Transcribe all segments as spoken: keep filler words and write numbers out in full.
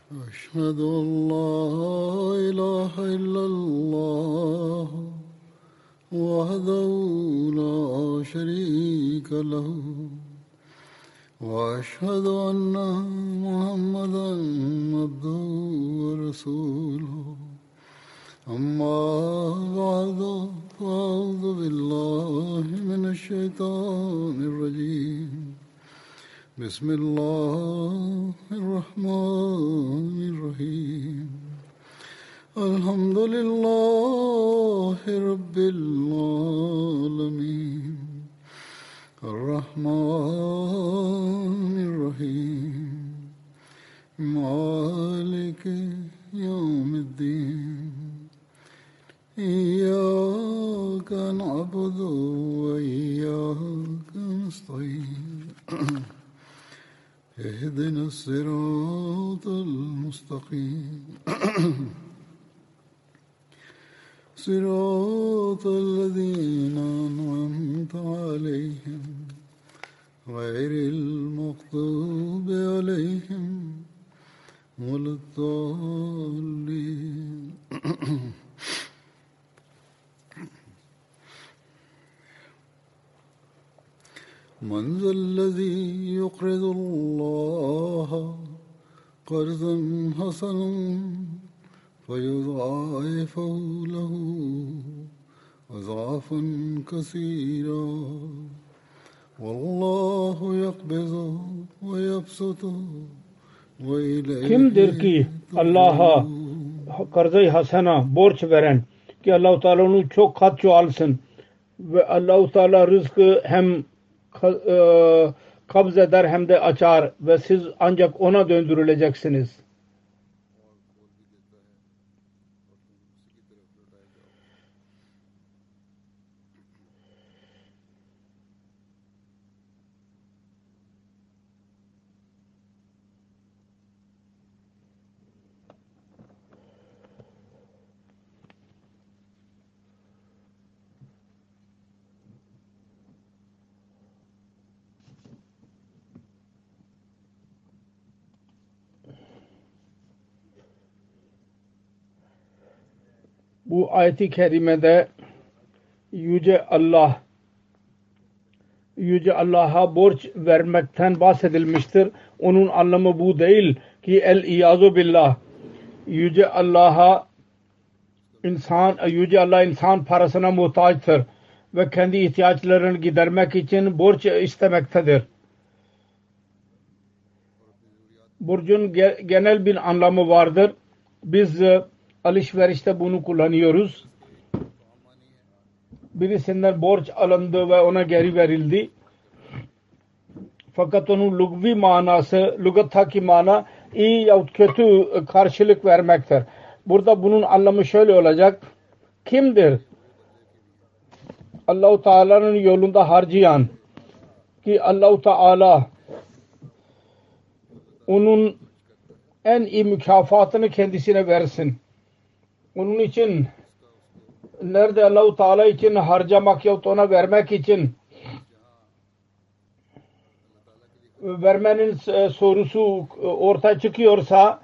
أشهد أن لا إله إلا الله وحده لا شريك له وأشهد أن محمدا عبده ورسوله أما بعد فأعوذ بالله من الشيطان الرجيم بسم الله الرحمن الرحيم الحمد لله رب العالمين الرحمن الرحيم مالك يوم الدين إياك نعبد وإياك نستعين اهدنا الصراط المستقيم صراط الذين أنعمت عليهم غير المغضوب عليهم ولا الضالين من ذا الذي يقرض الله قرضا حسنا فيضاعفه له أضعافا كثيرا والله يقبض ويبسط وإليه Kimdir ki Allah'a karzı hasena borç veren ki Allah-u Teala onu çok kat çoğalsın ve Allah-u Teala rızkı hem kabz eder hem de açar ve siz ancak ona döndürüleceksiniz. Bu ayet-i kerimede Yüce Allah Yüce Allah'a borç vermekten bahsedilmiştir. Onun anlamı bu değil ki el-iyazu billah Yüce Allah'a insan Yüce Allah insan parasına muhtaçtır ve kendi ihtiyaçlarını gidermek için borç istemektedir. Borcun genel bir anlamı vardır. Biz alışverişte bunu kullanıyoruz. Birisinden borç alındı ve ona geri verildi. Fakat onun lügvi manası, lügattaki mana iyi yahut kötü karşılık vermektir. Burada bunun anlamı şöyle olacak. Kimdir Allah-u Teala'nın yolunda harcayan ki Allah-u Teala onun en iyi mükafatını kendisine versin. Onun için nerede Allah-u Teala için harcamak yahut ona vermek için vermenin sorusu ortaya çıkıyorsa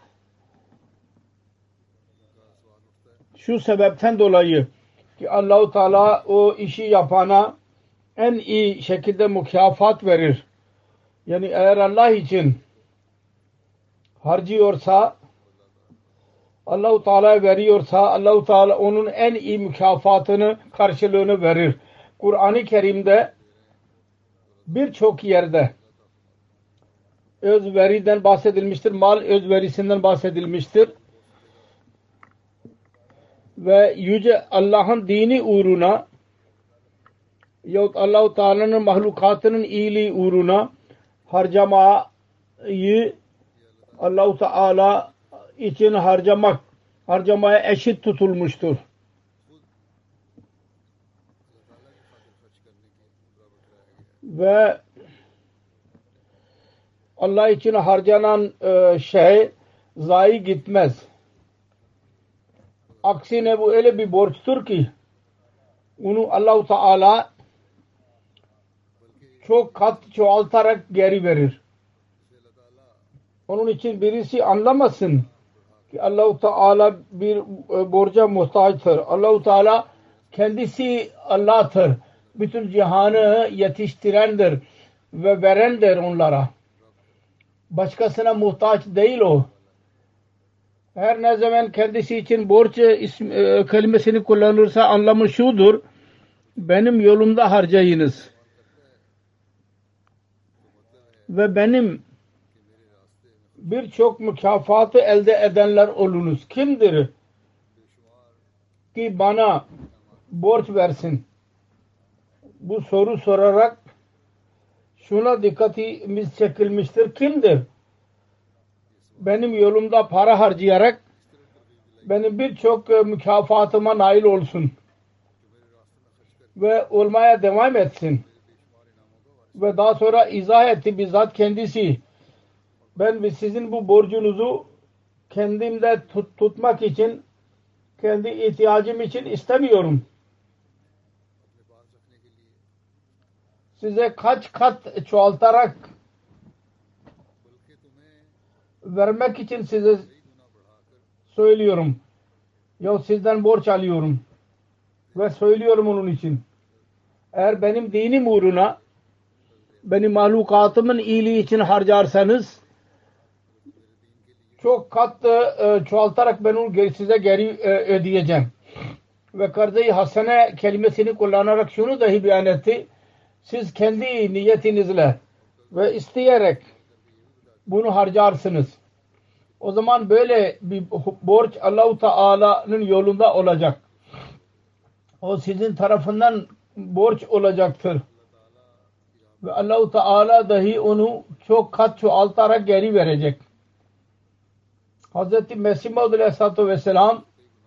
şu sebepten dolayı ki Allah-u Teala o işi yapana en iyi şekilde mükafat verir. Yani eğer Allah için harcıyorsa Allah-u Teala veriyorsa Allah-u Teala onun en iyi mükafatını karşılığını verir. Kur'an-ı Kerim'de birçok yerde özveriden bahsedilmiştir. Mal özverisinden bahsedilmiştir. Ve Yüce Allah'ın dini uğruna yahut Allah-u Teala'nın mahlukatının iyiliği uğruna harcamayı Allah-u Teala için harcamak, harcamaya eşit tutulmuştur. Ve Allah için harcanan şey zayi gitmez. Aksine bu öyle bir borçtur ki onu Allah-u Teala çok kat çoğaltarak geri verir. Onun için birisi anlamasın ki Allah-u Teala bir borca muhtaçtır. Allah-u Teala kendisi Allah'tır. Bütün cihanı yetiştirendir ve verendir onlara. Başkasına muhtaç değil o. Her ne zaman kendisi için borç ism, e, kelimesini kullanırsa anlamı şudur: benim yolumda harcayınız ve benim birçok mükafatı elde edenler olunuz. Kimdir ki bana borç versin? Bu soru sorarak şuna dikkatimiz çekilmiştir. Kimdir benim yolumda para harcayarak benim birçok mükafatıma nail olsun ve olmaya devam etsin? Ve daha sonra izah etti bizzat kendisi: ben sizin bu borcunuzu kendimde tut, tutmak için, kendi ihtiyacım için istemiyorum. Size kaç kat çoğaltarak vermek için size söylüyorum. Ya sizden borç alıyorum ve söylüyorum onun için. Eğer benim dinim uğruna, benim mahlukatımın iyiliği için harcarsanız çok kat e, çoğaltarak ben onu size geri e, ödeyeceğim. Ve karz-ı hasene kelimesini kullanarak şunu dahi beyan etti: siz kendi niyetinizle ve isteyerek bunu harcarsınız. O zaman böyle bir borç Allah-u Teala'nın yolunda olacak. O sizin tarafından borç olacaktır. Ve Allah-u Teala dahi onu çok kat çoğaltarak geri verecek. Hazreti Mesih Maud Aleyhisselatü Vesselam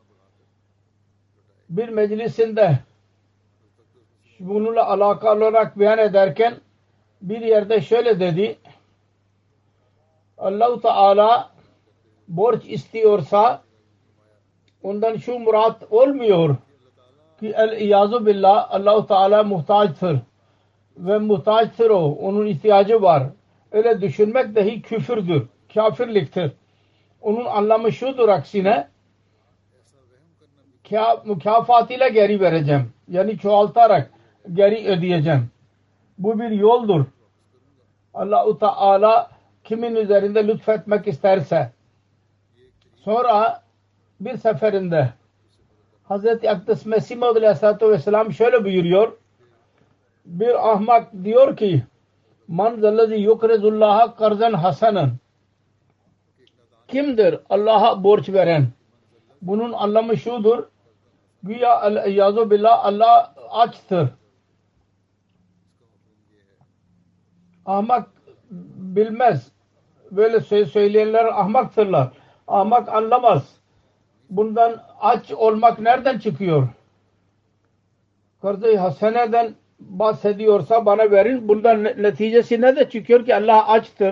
bir meclisinde bununla alakalı olarak beyan ederken bir yerde şöyle dedi: Allah-u Teala borç istiyorsa ondan şu murat olmuyor ki el-iyazu billah Allah-u Teala muhtaçtır ve muhtaçtır o. Onun ihtiyacı var. Öyle düşünmek dahi küfürdür, kafirliktir. Onun anlamı şudur aksine: mükafatıyla geri vereceğim. Yani çoğaltarak geri ödeyeceğim. Bu bir yoldur. Allah-u Teala kimin üzerinde lütfetmek isterse. Sonra bir seferinde Hazreti Akdes Mesih Maud Aleyhisselatü Vesselam şöyle buyuruyor: bir ahmak diyor ki man zellezi yukrizullaha karzan hasanan, kimdir Allah'a borç veren? Bunun anlamı şudur: güya el-iyazu billah Allah açtır. Ahmak bilmez. Böyle söyleyenler ahmaktırlar. Ahmak anlamaz. Bundan aç olmak nereden çıkıyor? Karz-ı haseneden bahsediyorsa bana verin. Bundan neticesi ne de çıkıyor ki Allah açtır.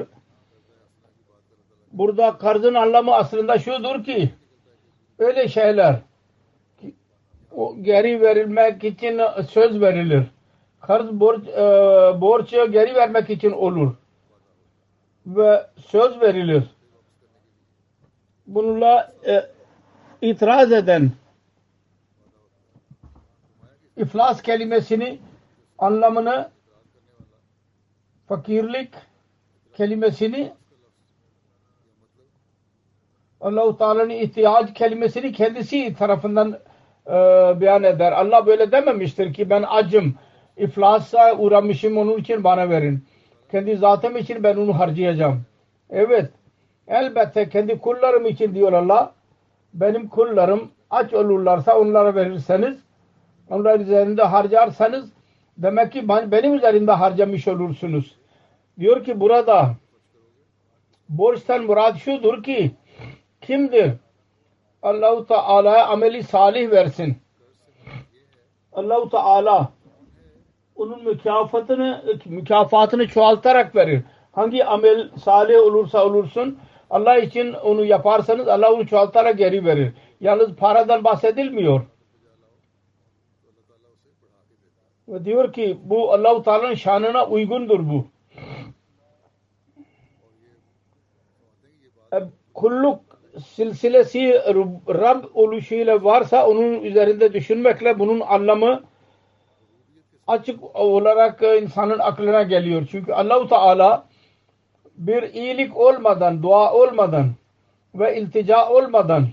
Burada karzın anlamı aslında şudur ki öyle şeyler ki, o geri verilmek için söz verilir. Karz borç, e, borcu geri vermek için olur ve söz verilir. Bununla e, itiraz eden iflas kelimesini anlamını, fakirlik kelimesini, Allah-u Teala'nın ihtiyaç kelimesini kendisi tarafından e, beyan eder. Allah böyle dememiştir ki ben acım, iflasa uğramışım, onun için bana verin. Kendi zatım için ben onu harcayacağım. Evet, elbette kendi kullarım için diyor Allah. Benim kullarım aç olurlarsa onlara verirseniz, onlar üzerinde harcarsanız demek ki benim üzerimde harcamış olursunuz. Diyor ki burada borçtan murad şudur ki kimdir Allah-u Teala'ya ameli salih versin. Allah-u Teala onun mükafatını mükafatını çoğaltarak verir. Hangi amel salih olursa olursun Allah için onu yaparsanız Allah onu çoğaltarak geri verir. Yalnız paradan bahsedilmiyor. Ve diyor ki bu Allah-u Teala'nın şanına uygundur bu. e, kulluk silsilesi Rab oluşuyla varsa onun üzerinde düşünmekle bunun anlamı açık olarak insanın aklına geliyor. Çünkü Allah-u Teala bir iyilik olmadan, dua olmadan ve iltica olmadan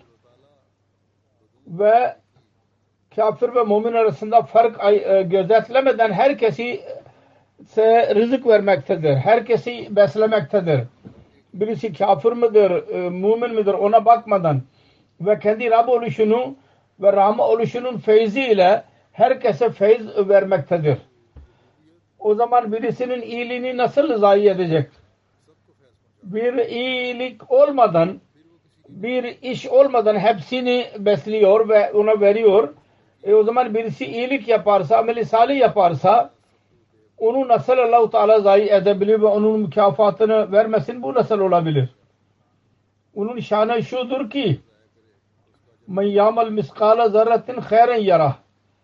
ve kafir ve mümin arasında fark gözetlemeden herkesi rızık vermektedir. Herkesi beslemektedir. Birisi kafir midir, mümin midir ona bakmadan ve kendi Rab oluşunu ve Rahman oluşunun feyziyle herkese feyz vermektedir. O zaman birisinin iyiliğini nasıl zayi edecek? Bir iyilik olmadan, bir iş olmadan hepsini besliyor ve ona veriyor. E o zaman birisi iyilik yaparsa, ameli salih yaparsa onu nasıl Allah-u Teala zayi edebilir ve onun mükafatını vermesin? Bu nasıl olabilir? Onun şanı şudur ki men ya'mal miskala zerratin hayran yarah.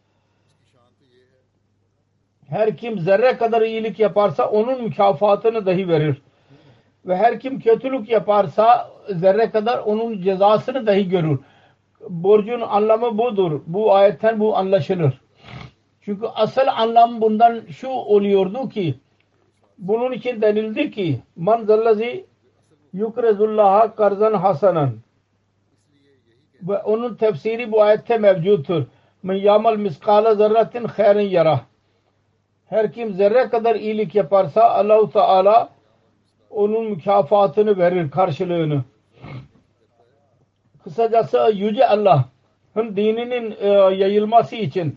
Her kim zerre kadar iyilik yaparsa onun mükafatını dahi verir. Ve her kim kötülük yaparsa zerre kadar onun cezasını dahi görür. Borcun anlamı budur. Bu ayetten bu anlaşılır. Çünkü asıl anlam bundan şu oluyordu ki bunun için denildi ki man zallazi yukrezullaha karzan hasanan ve onun tefsiri bu ayette mevcuttur. Men yamal miskala zerratin hayran yarah. Her kim zerre kadar iyilik yaparsa Allah-u Teala onun mükafatını verir, karşılığını. Kısacası Yüce Allah'ın dininin e, yayılması için,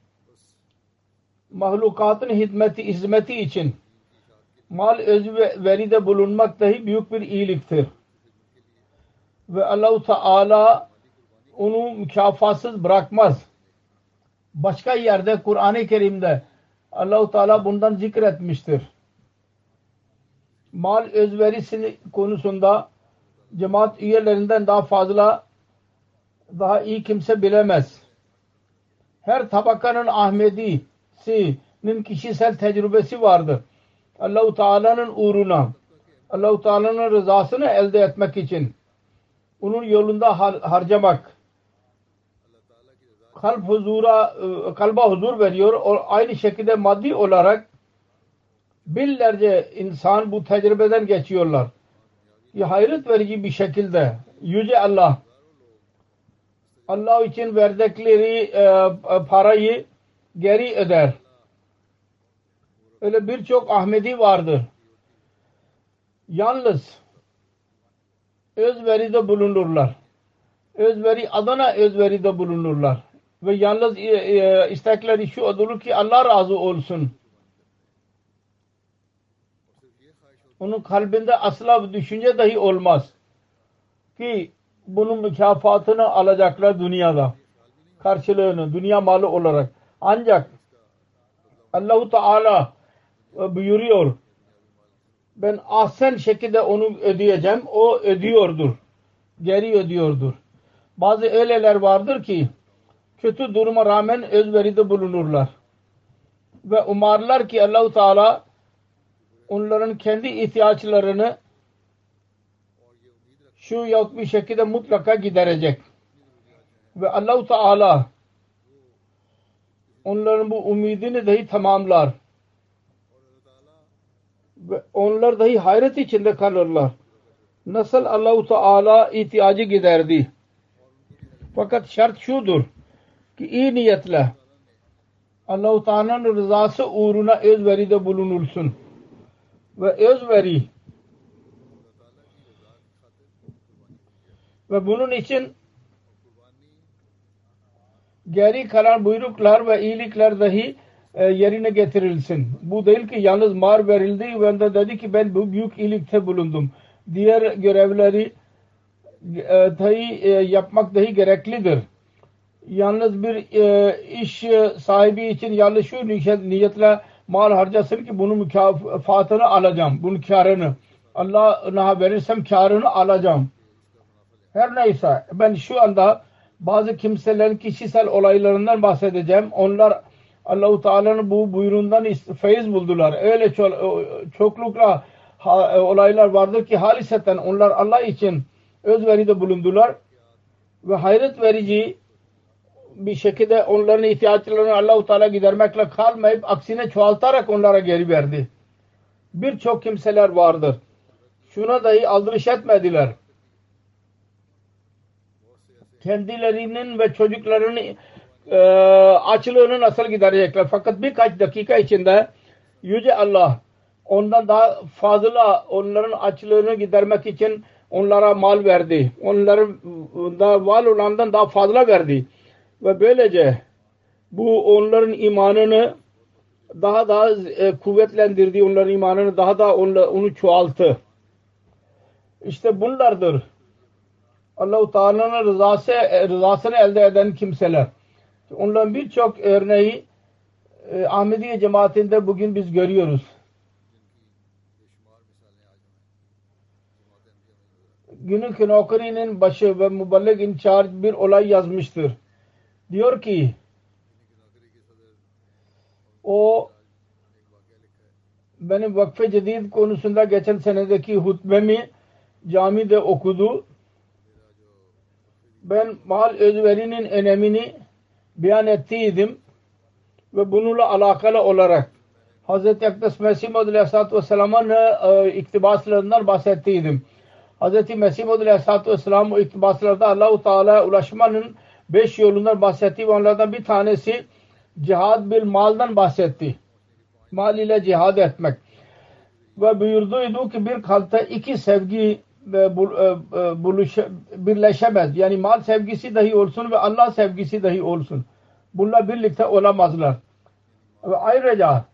mahlukatın hizmeti, hizmeti için mal özveride bulunmak dahi büyük bir iyiliktir. Ve Allah-u Teala onu mükafatsız bırakmaz. Başka yerde Kur'an-ı Kerim'de Allah-u Teala bundan zikretmiştir. Mal özverisi konusunda cemaat üyelerinden daha fazla, daha iyi kimse bilemez. Her tabakanın Ahmedisi'nin kişisel tecrübesi vardır. Allah-u Teala'nın uğruna, Allah-u Teala'nın rızasını elde etmek için onun yolunda har harcamak kalp huzura, kalba huzur veriyor. O aynı şekilde maddi olarak binlerce insan bu tecrübeden geçiyorlar. Ya hayret verici bir şekilde Yüce Allah Allah için verdikleri e, parayı geri öder. Öyle birçok Ahmedi vardır. Yalnız özveride bulunurlar. Özveri adına özveride bulunurlar. Ve yalnız e, e, istekleri şu olur ki Allah razı olsun. Onun kalbinde asla bir düşünce dahi olmaz ki bunun mükafatını alacaklar dünyada. Karşılığını dünya malı olarak. Ancak Allah-u Teala buyuruyor ben ahsen şekilde onu ödeyeceğim. O ödüyordur. Geri ödüyordur. Bazı öyleler vardır ki kötü duruma rağmen özveride bulunurlar. Ve umarlar ki Allah-u Teala onların kendi ihtiyaçlarını şu yahut bir şekilde mutlaka giderecek. Ve Allah-u Teala onların bu umidini dahi tamamlar. Ve onlar dahi hayret içinde kalırlar. Nasıl Allah-u Teala ihtiyacı giderdi. Fakat şart şudur ki iyi niyetle Allah-u Teala'nın rızası uğruna özveride bulunulsun. Ve özveri ve bunun için geri kalan buyruklar ve iyilikler dahi e, yerine getirilsin. Bu değil ki yalnız mar verildi ve de dedi ki ben bu büyük iyilikte bulundum. Diğer görevleri e, dahi e, yapmak dahi gereklidir. Yalnız bir e, iş sahibi için yalnız şu niyetle mal harcasın ki bunun mükafatını alacağım. Bunun kârını. Allah'a verirsem kârını alacağım. Her neyse ben şu anda bazı kimselerin kişisel olaylarından bahsedeceğim. Onlar Allah-u Teala'nın bu buyruğundan feyiz buldular. Öyle ço çoklukla ha, olaylar vardır ki haliseten onlar Allah için özveride bulundular ve hayret verici bir şekilde onların ihtiyaçlarını Allah-u Teala gidermekle kalmayıp aksine çoğaltarak onlara geri verdi. Birçok kimseler vardır. Şuna dahi aldırış etmediler. Kendilerinin ve çocuklarının e, açlığını nasıl giderecekler? Fakat birkaç dakika içinde Yüce Allah ondan daha fazla onların açlığını gidermek için onlara mal verdi. Onların da var olandan daha fazla verdi. Ve böylece bu onların imanını daha daha e, kuvvetlendirdi. Onların imanını daha da onla, onu çoğalttı. İşte bunlardır Allah-u Teala'nın rızası, rızasını elde eden kimseler. Onların birçok örneği e, Ahmediye cemaatinde bugün biz görüyoruz. Günün Nokri'nin başı ve müballik in charge bir olay yazmıştır. Diyor ki o benim vakfe cedid konusunda geçen senedeki hutbemi camide okudu. Ben mal özverinin önemini beyan ettiydim ve bununla alakalı olarak Hz. Akdes Mesih Maud Aleyhisselatü Vesselam'ın e, iktibaslarından bahsettiydim. Hz. Mesih Maud Aleyhisselatü Vesselam o iktibaslarda Allah-u Teala'ya ulaşmanın beş yolundan bahsetti ve onlardan bir tanesi cihad bil maldan bahsetti. Mal ile cihad etmek. Ve buyurduydu ki bir kalpte iki sevgi buluş, birleşemez. Yani mal sevgisi dahi olsun ve Allah sevgisi dahi olsun. Bunlar birlikte olamazlar. Ve ayrıca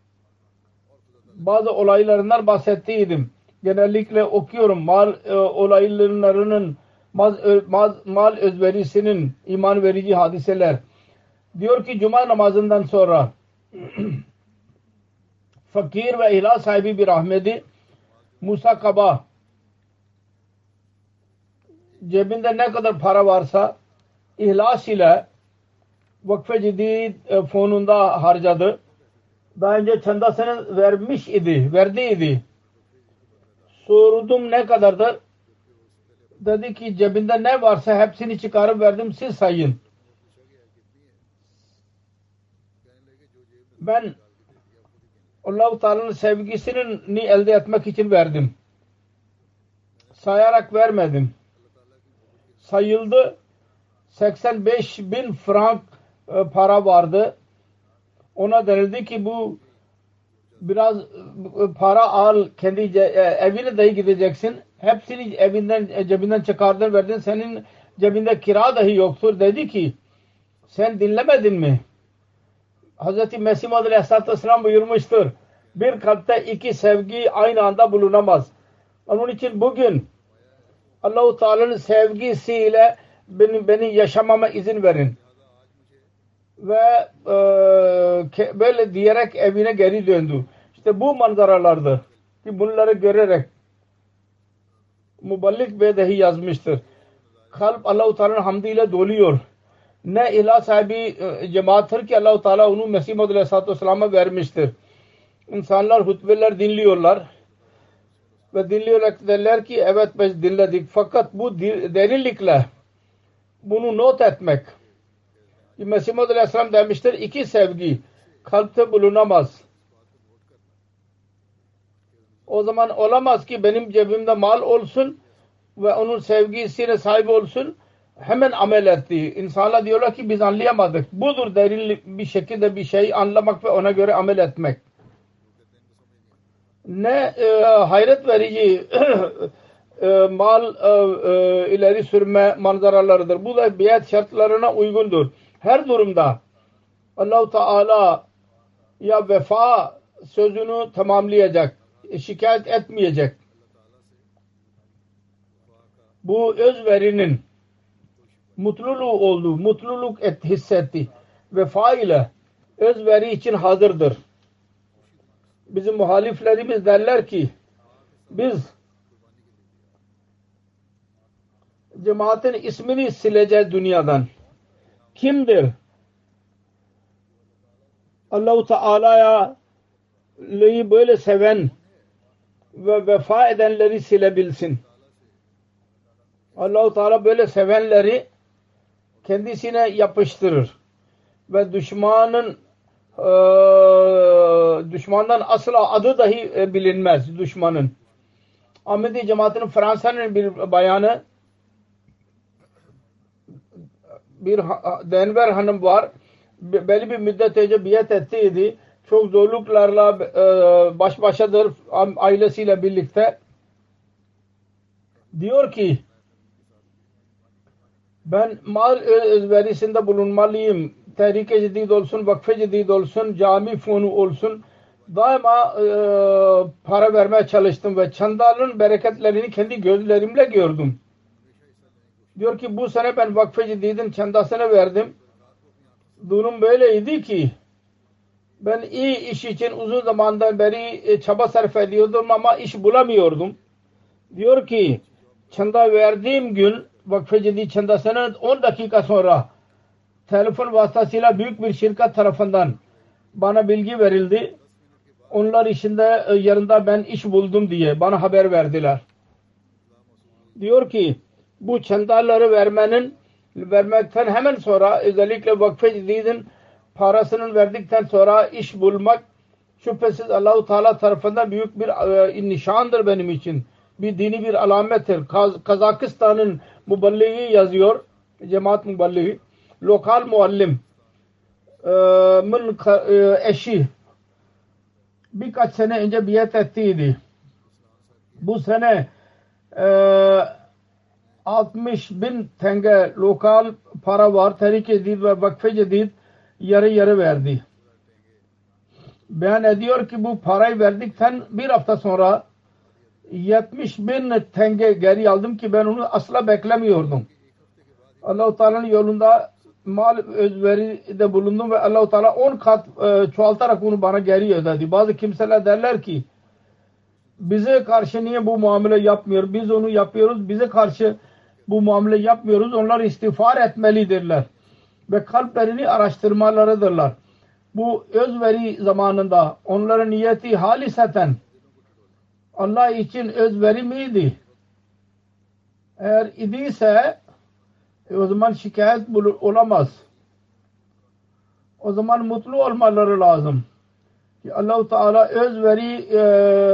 bazı olaylarından bahsettiydim. Genellikle okuyorum mal e, olaylarının mal, mal, mal özverisinin iman verici hadiseler. Diyor ki cuma namazından sonra fakir ve ihlas sahibi bir Ahmedi Musa Kaba cebinde ne kadar para varsa ihlas ile Vakfe Cedid fonunda harcadı. Daha önce çandasını vermiş idi, verdiydi. Sordum ne kadardır? Dedi ki cebinde ne varsa hepsini çıkarıp verdim, siz sayın. Ben Allah-u Teala'nın sevgisini elde etmek için verdim. Sayarak vermedim. Sayıldı. seksen beş bin frank e, para vardı. Ona denildi ki bu biraz e, para al, kendi e, evine dahi gideceksin. Hepsini evinden e, cebinden çıkardın verdin. Senin cebinde kira dahi yoktur. Dedi ki sen dinlemedin mi? Hz. Mesih Maud Aleyhisselatü Vesselam buyurmuştur. Bir kalpte iki sevgi aynı anda bulunamaz. Onun için bugün Allah-u Teala'nın sevgisiyle beni, beni yaşamama izin verin. Ve e, böyle diyerek evine geri döndü. İşte bu manzaralardı ki bunları görerek Muballik Bey dahi yazmıştır. Kalp Allah-u Teala'nın hamdiyle doluyor. Ne ilah sahibi e, cemaattir ki Allah-u Teala onu Mesih Maud Aleyhisselatü Vesselam'a vermiştir. İnsanlar hutbeler dinliyorlar ve dinliyorlar derler ki evet biz dinledik. Fakat bu derinlikle bunu not etmek. Mesih Maud Aleyhisselam demiştir iki sevgi kalpte bulunamaz. O zaman olamaz ki benim cebimde mal olsun ve onun sevgisine sahip olsun. Hemen amel etti. İnsanlar diyorlar ki biz anlayamadık. Budur derin bir şekilde bir şey anlamak ve ona göre amel etmek. Ne e, hayret verici e, mal e, e, ileri sürme manzaralarıdır. Bu da biat şartlarına uygundur. Her durumda Allah-u Teala ya vefa sözünü tamamlayacak. Şikayet etmeyecek. Bu özverinin mutluluğu oldu. Mutluluk et, hissetti. Vefa ile özveri için hazırdır. Bizim muhaliflerimiz derler ki biz cemaatin ismini sileceğiz dünyadan. Kimdir? Allah-u Teala'ya böyle seven ve vefa edenleri silebilsin. Allah-u Teala böyle sevenleri kendisine yapıştırır ve düşmanın e, düşmandan asla adı dahi bilinmez düşmanın. Ahmedi cemaatinin Fransa'nın bir bayanı, bir Denver hanım var. Belli bir müddet önce biat ettiydi. Çok zorluklarla baş başadır ailesiyle birlikte. Diyor ki ben mal özverisinde bulunmalıyım. Tehrik-i Cedid olsun, Vakf-ı Cedid olsun, cami fonu olsun. Daima e, para vermeye çalıştım ve çandalın bereketlerini kendi gözlerimle gördüm. Diyor ki bu sene ben Vakf-ı Cedid'in çandasını verdim. Durum böyleydi ki ben iyi iş için uzun zamandan beri çaba sarf ediyordum ama iş bulamıyordum. Diyor ki çanda verdiğim gün Vakf-ı Cedid çandasının on dakika sonra telefon vasıtasıyla büyük bir şirket tarafından bana bilgi verildi. Onlar içinde yarında ben iş buldum diye bana haber verdiler. Diyor ki bu çandaları vermenin vermekten hemen sonra özellikle Vakf-ı Cedid'in parasını verdikten sonra iş bulmak şüphesiz Allah-u Teala tarafından büyük bir e, nişandır benim için. Bir dini bir alamettir. Kaz Kazakistan'ın muballiği yazıyor. Cemaat muballiği. Lokal muallim e, min e, eşi birkaç sene önce biat ettiydi. Bu sene e, altmış bin tenge lokal para var. Tehrik-i Cedid ve Vakf-ı Cedid yarı yarı verdi. Beyan ediyor ki bu parayı verdikten bir hafta sonra yetmiş bin tenge geri aldım ki ben onu asla beklemiyordum. Allah-u Teala'nın yolunda mal özveride bulundum ve Allah-u Teala on kat e, çoğaltarak onu bana geri ödedi. Bazı kimseler derler ki bize karşı niye bu muamele yapmıyor? Biz onu yapıyoruz. Bize karşı bu muamele yapmıyoruz. Onlar istiğfar etmelidirler. Ve kalplerini araştırmalarıdırlar. Bu özveri zamanında onların niyeti haliseten Allah için özveri miydi? Eğer idiyse o zaman şikayet olamaz. O zaman mutlu olmaları lazım. Ki Allah-u Teala özveri e,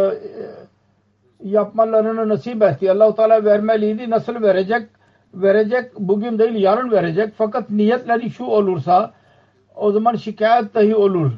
yapmalarını nasip etti. Allah-u Teala vermeliydi. Nasıl verecek? Verecek. Bugün değil yarın verecek. Fakat niyetleri şu olursa o zaman şikayet dahi olur.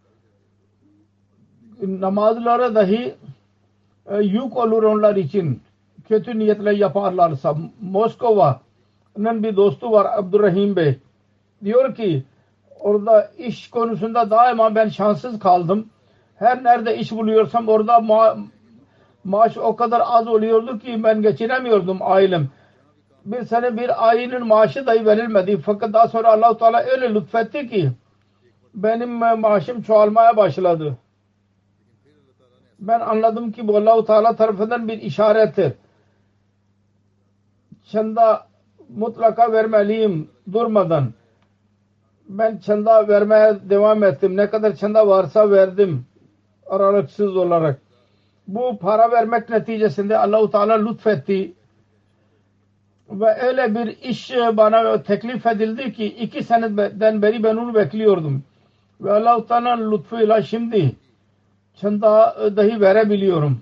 Namazlara dahi e, yük olur onlar için. Kötü niyetle yaparlarsa. Moskova'nın bir dostu var Abdurrahim Bey. Diyor ki orada iş konusunda daima ben şanssız kaldım. Her nerede iş buluyorsam orada ma maaş o kadar az oluyordu ki ben geçinemiyordum ailem. Bir sene bir ayının maaşı dahi verilmedi. Fakat daha sonra Allah-u Teala öyle lütfetti ki benim maaşım çoğalmaya başladı. Ben anladım ki bu Allah-u Teala tarafından bir işarettir. Çanda mutlaka vermeliyim durmadan. Ben çanda vermeye devam ettim. Ne kadar çanda varsa verdim. Aralıksız olarak. Bu para vermek neticesinde Allah-u Teala lütfetti. Ve öyle bir iş bana teklif edildi ki iki seneden beri ben onu bekliyordum. Ve Allah-u Teala'nın lütfuyla şimdi çanda dahi verebiliyorum.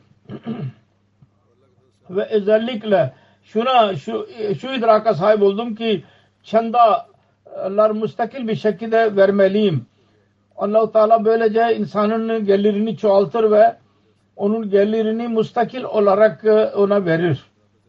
Ve özellikle şuna şu, şu idraka sahip oldum ki çandalar müstakil bir şekilde vermeliyim. Allah-u Teala böylece insanın gelirini çoğaltır ve onun gelirini müstakil olarak ona verir.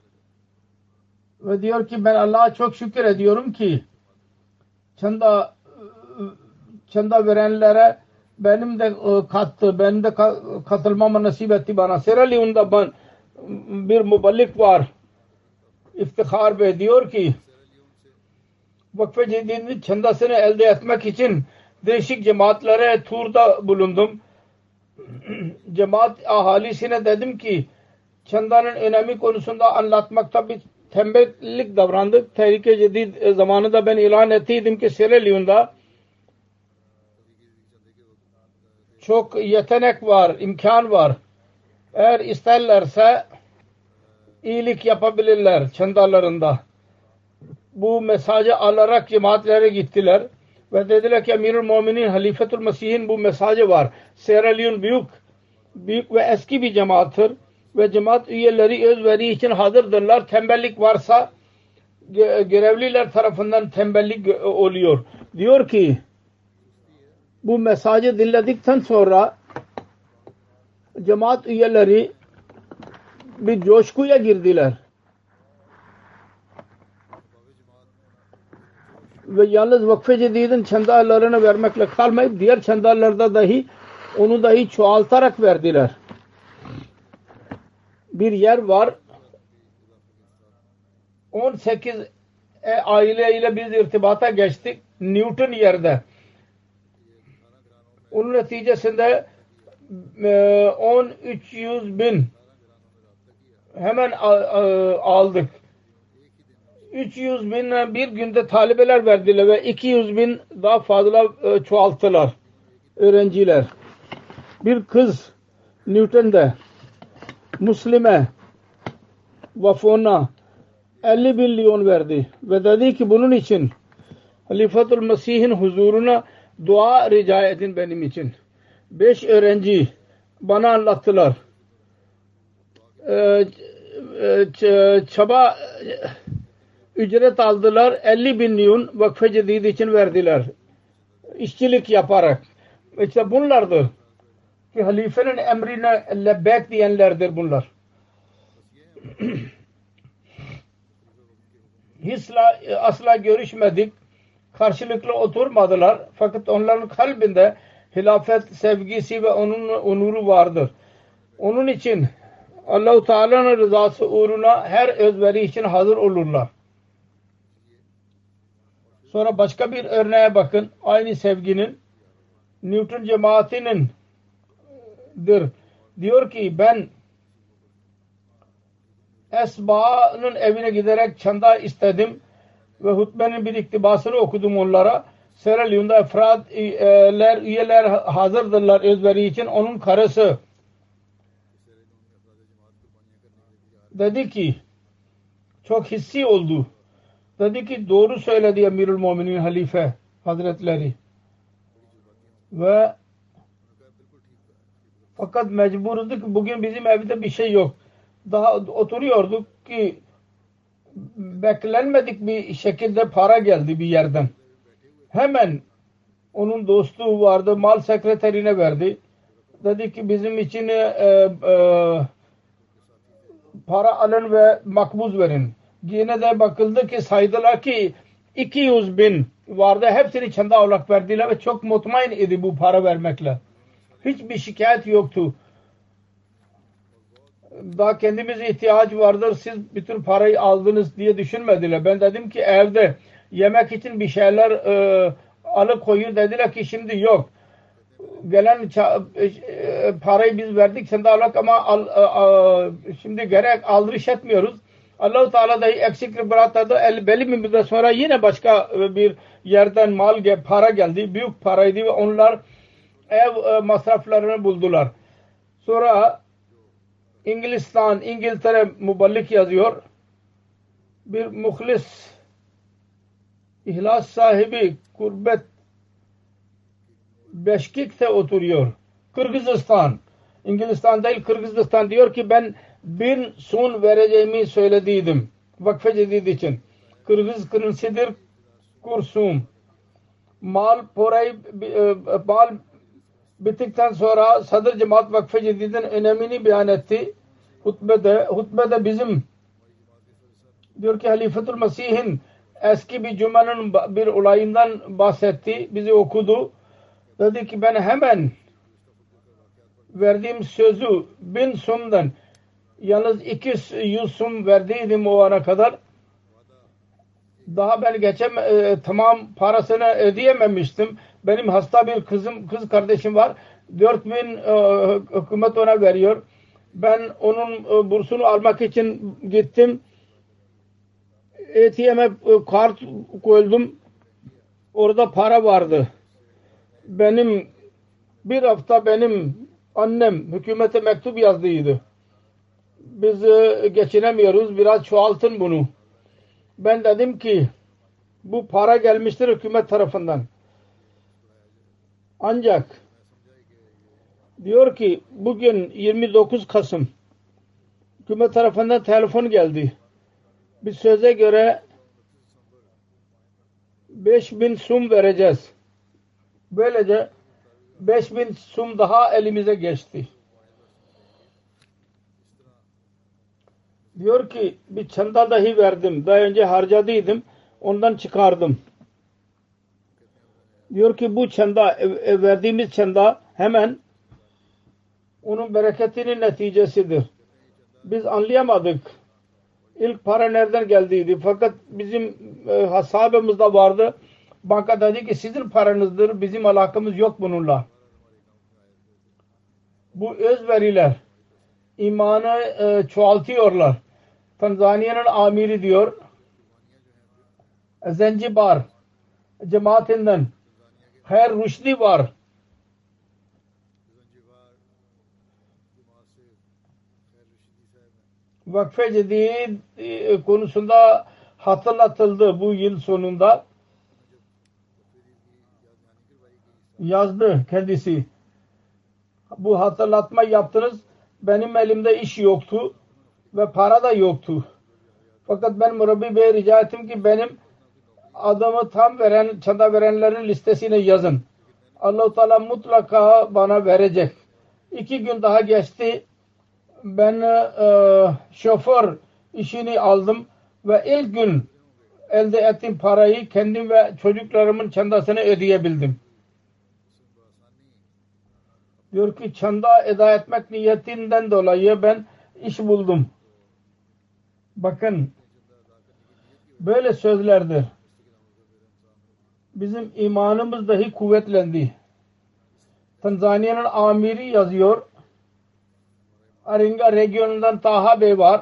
Ve diyor ki ben Allah'a çok şükür ediyorum ki çanda çanda verenlere benim de kattı, benim de katılmama nasip etti bana. Sierra Leone'da ben bir muballik var. İftihar Bey diyor ki Vakf-ı Cedid'in çandasını elde etmek için değişik cemaatlere turda bulundum. Cemaat ahalisine dedim ki çandanın önemi konusunda anlatmakta bir tembellik davrandık. Tehrik-i Cedid zamanında ben ilan ettiydim ki Sierra Leone'da çok yetenek var, imkan var. eğer isterlerse iyilik yapabilirler çandalarında. Bu mesajı alarak cemaatlere gittiler ve dediler ki Emirül Müminin Halifetül Mesih'in bu mesajı var. Sierra Leone büyük büyük ve eski bir cemaattır ve cemaat üyeleri özveri için hazırdırlar. Tembellik varsa görevliler tarafından tembellik oluyor. Diyor ki bu mesajı dinledikten sonra cemaat üyeleri bir coşkuya girdiler. Ve yalnız Vakfe Cedid'in çandalarını vermekle kalmayıp diğer çandalarda dahi onu dahi çoğaltarak verdiler. Bir yer var on sekiz aileyle biz irtibata geçtik Newton yerde. Onun neticesinde on üç yüz bin hemen aldık. üç yüz bin bir günde talebeler verdiler ve iki yüz bin daha fazla çoğalttılar öğrenciler. Bir kız Newton'da Muslime Vafona elli bin liyon verdi ve dedi ki bunun için Halifetül Mesih'in huzuruna dua rica edin benim için. Beş öğrenci bana anlattılar. Ee, çaba ücret aldılar. elli bin liyon Vakfe Cedid için verdiler. İşçilik yaparak. İşte bunlardır. Ki halifenin emrine lebbek diyenlerdir bunlar. Hisla, asla görüşmedik. Karşılıklı oturmadılar. Fakat onların kalbinde hilafet sevgisi ve onun onuru vardır. Onun için Allah-u Teala'nın rızası uğruna her özveri için hazır olurlar. Sonra başka bir örneğe bakın. Aynı sevginin Newton cemaatinin dir. Diyor ki ben Esba'nın evine giderek çanda istedim ve hutbenin bir iktibasını okudum onlara. Sierra Leone'da efradler, üyeler hazırdırlar özveri için. Onun karısı dedi ki çok hissi oldu. Dedi ki doğru söyledi Emirül Müminin Halife Hazretleri. Ve fakat mecburuz ki bugün bizim evde bir şey yok. Daha oturuyorduk ki beklenmedik bir şekilde para geldi bir yerden. Hemen onun dostu vardı, mal sekreterine verdi. Dedi ki bizim için e, e, para alın ve makbuz verin. Yine de bakıldı ki saydılar ki iki yüz bin vardı. Hepsini çanda olarak verdiler ve çok mutmain idi bu para vermekle. Hiçbir şikayet yoktu. Daha kendimize ihtiyaç vardır. Siz bütün parayı aldınız diye düşünmediler. Ben dedim ki evde yemek için bir şeyler e, alıp koyun dediler ki şimdi yok. Gelen e, parayı biz verdik sen de alak ama al, e, e, şimdi gerek aldırış etmiyoruz. Allah-u Teala dahi eksiklik bıraktı. Belli bir müddet sonra yine başka bir yerden mal para geldi. Büyük paraydı ve onlar ev masraflarını buldular. Sonra İngilizistan, İngiltere muballik yazıyor. Bir muhlis, ihlas sahibi, kurbet Beşkik'te oturuyor. Kırgızistan. İngilizistan değil Kırgızistan diyor ki ben bin sun vereceğimi söylediydim. Vakfe Cedid için. Kırgız kırınsıdır kursum. Mal porayı mal bittikten sonra Sadr Cemaat Vakfe Cedid'in önemini beyan etti. Hutbede, hutbede bizim diyor ki Halifetül Mesih'in eski bir cümenin bir olayından bahsetti. Bizi okudu. Dedi ki ben hemen verdiğim sözü bin sumdan yalnız iki yüz sum verdiydim o ana kadar. Daha ben geçem e, tamam parasını ödeyememiştim. Benim hasta bir kızım, kız kardeşim var. dört bin e, hükümet ona veriyor. Ben onun e, bursunu almak için gittim. A T M'e e, kart koydum. Orada para vardı. Benim bir hafta benim annem hükümete mektup yazdıydı. biz e, geçinemiyoruz. Biraz çoğaltın bunu. Ben dedim ki bu para gelmiştir hükümet tarafından. Ancak diyor ki bugün yirmi dokuz Kasım hükümet tarafından telefon geldi. Bir söze göre beş bin sum vereceğiz. Böylece beş bin sum daha elimize geçti. Diyor ki bir çanda dahi verdim. Daha önce harcadıydım. Ondan çıkardım. Diyor ki bu çanda verdiğimiz çanda hemen onun bereketinin neticesidir. Biz anlayamadık. İlk para nereden geldiydi. Fakat bizim e, hesabımızda vardı. Banka dedi ki sizin paranızdır. Bizim alakamız yok bununla. Bu özveriler imanı e, çoğaltıyorlar. Tanzanya'nın amiri diyor Zencibar cemaatinden Her Rüşdi var. Vakfe Cedid konusunda hatırlatıldı bu yıl sonunda. Yazdı kendisi. Bu hatırlatma yaptınız. Benim elimde iş yoktu ve para da yoktu. Fakat ben Murabbi Bey'e rica ettim ki benim adamı tam veren, çanda verenlerin listesine yazın. Allah-u Teala mutlaka bana verecek. İki gün daha geçti. Ben e, şoför işini aldım ve ilk gün elde ettiğim parayı kendim ve çocuklarımın çandasını ödeyebildim. Diyor ki çanda eda etmek niyetinden dolayı ben iş buldum. Bakın böyle sözlerdir. Bizim imanımız dahi kuvvetlendi. Tanzanya'nın amiri yazıyor. Aringa regionundan Taha Bey var.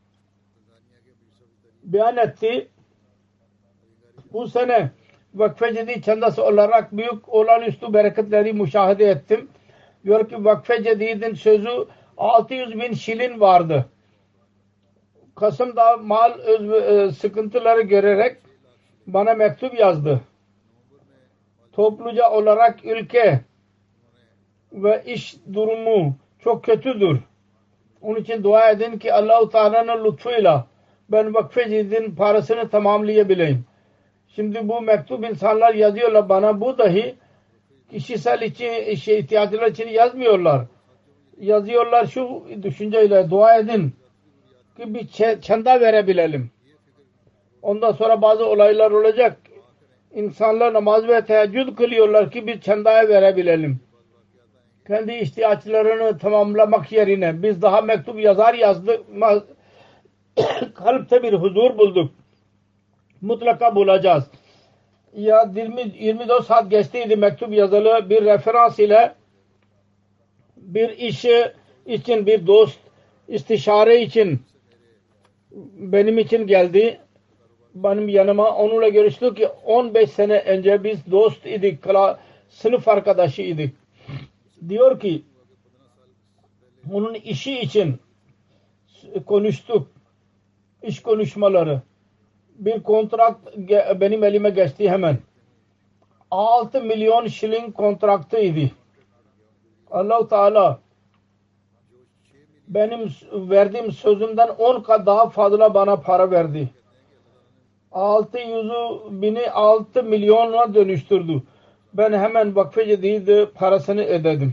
Beyan etti. Bu sene Vakfe Cedid çandası olarak büyük olağanüstü bereketleri müşahede ettim. Diyor ki Vakfe Cedid'in sözü altı yüz bin şilin vardı. Kasım'da mal öz, e, sıkıntıları görerek bana mektup yazdı. Topluca olarak ülke ve iş durumu çok kötüdür. Onun için dua edin ki Allah-u Teala'nın lütfuyla ben Vakfe Cedid'in parasını tamamlayabileyim. Şimdi bu mektup insanlar yazıyorlar bana. Bu dahi kişisel için, şey, ihtiyaçlar için yazmıyorlar. Yazıyorlar şu düşünceyle dua edin ki bir çanda verebilelim. Ondan sonra bazı olaylar olacak. İnsanlar namaz ve teheccüd kılıyorlar ki bir çandaya verebilelim. Kendi ihtiyaçlarını tamamlamak yerine biz daha mektup yazar yazdık. Kalpte bir huzur bulduk. Mutlaka bulacağız. Ya yirmi dört saat geçtiydi mektup yazılı bir referans ile bir işi için bir dost istişare için benim için geldi. Benim yanıma onunla görüştük ki on beş sene önce biz dost idik. Sınıf arkadaşı idik. Diyor ki onun işi için konuştuk. İş konuşmaları. Bir kontrat benim elime geçti hemen. altı milyon şilin kontraktıydı. Allah-u Teala benim verdiğim sözümden on kat daha fazla bana para verdi. altı yüz bini altı milyona dönüştürdü. Ben hemen Vakfe Cedid parasını ödedim.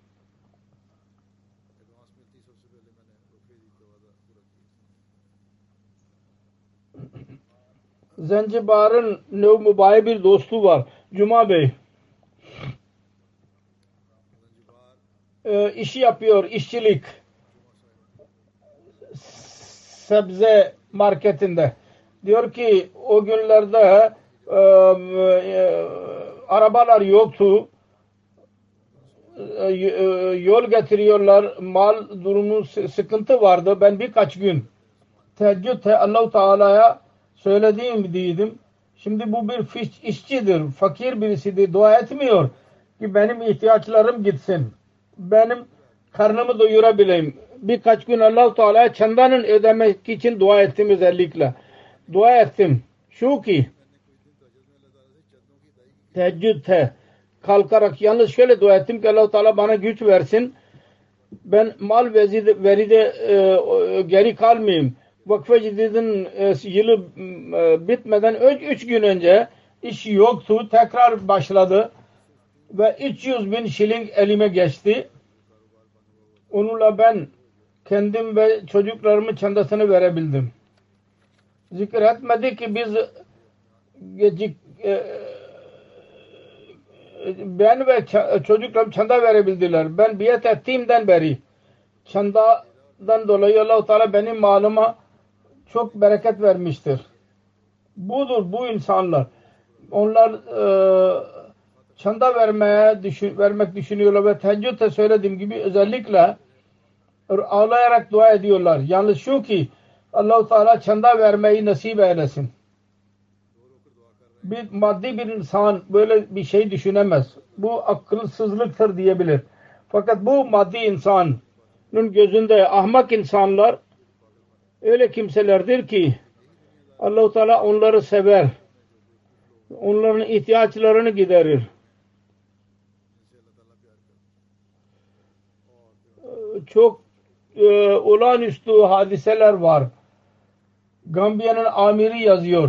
Zencibar'ın Nev Mübaye bir dostu var. Cuma Bey. Ee, işi yapıyor. İşçilik. Sebze marketinde. Diyor ki o günlerde e, e, arabalar yoktu. E, e, yol getiriyorlar. Mal durumu sıkıntı vardı. Ben birkaç gün teheccüd Allah-u Teala'ya söylediğim dedim. Şimdi bu bir işçidir. Fakir birisidir. Dua etmiyor ki benim ihtiyaçlarım gitsin. Benim karnımı doyurabileyim. Birkaç gün Allah-u Teala'ya çandanın ödemek için dua ettim özellikle. Dua ettim. Şu ki teheccüde kalkarak yalnız şöyle dua ettim ki Allah-u Teala bana güç versin. Ben mal veride e, geri kalmayayım. Vakfe Cidid'in e, yılı e, bitmeden üç gün önce iş yoktu. Tekrar başladı. Ve üç yüz bin şiling elime geçti. Onunla ben kendim ve çocuklarımın çandasını verebildim. Zikir etmedi ki biz gecik e, ben ve çocuklarım çanda verebildiler. Ben biat ettiğimden beri çandadan dolayı Allah-u Teala benim malıma çok bereket vermiştir. Budur bu insanlar. Onlar e, çanda vermeye düşün, vermek düşünüyorlar ve teheccüde söylediğim gibi özellikle ağlayarak dua ediyorlar. Yalnız şu ki Allah-u Teala çanda vermeyi nasip eylesin. Bir maddi bir insan böyle bir şey düşünemez. Bu akılsızlıktır diyebilir. Fakat bu maddi insanın gözünde ahmak insanlar öyle kimselerdir ki Allah-u Teala onları sever. Onların ihtiyaçlarını giderir. Çok e, olağanüstü hadiseler var. Gambiya'nın amiri yazıyor.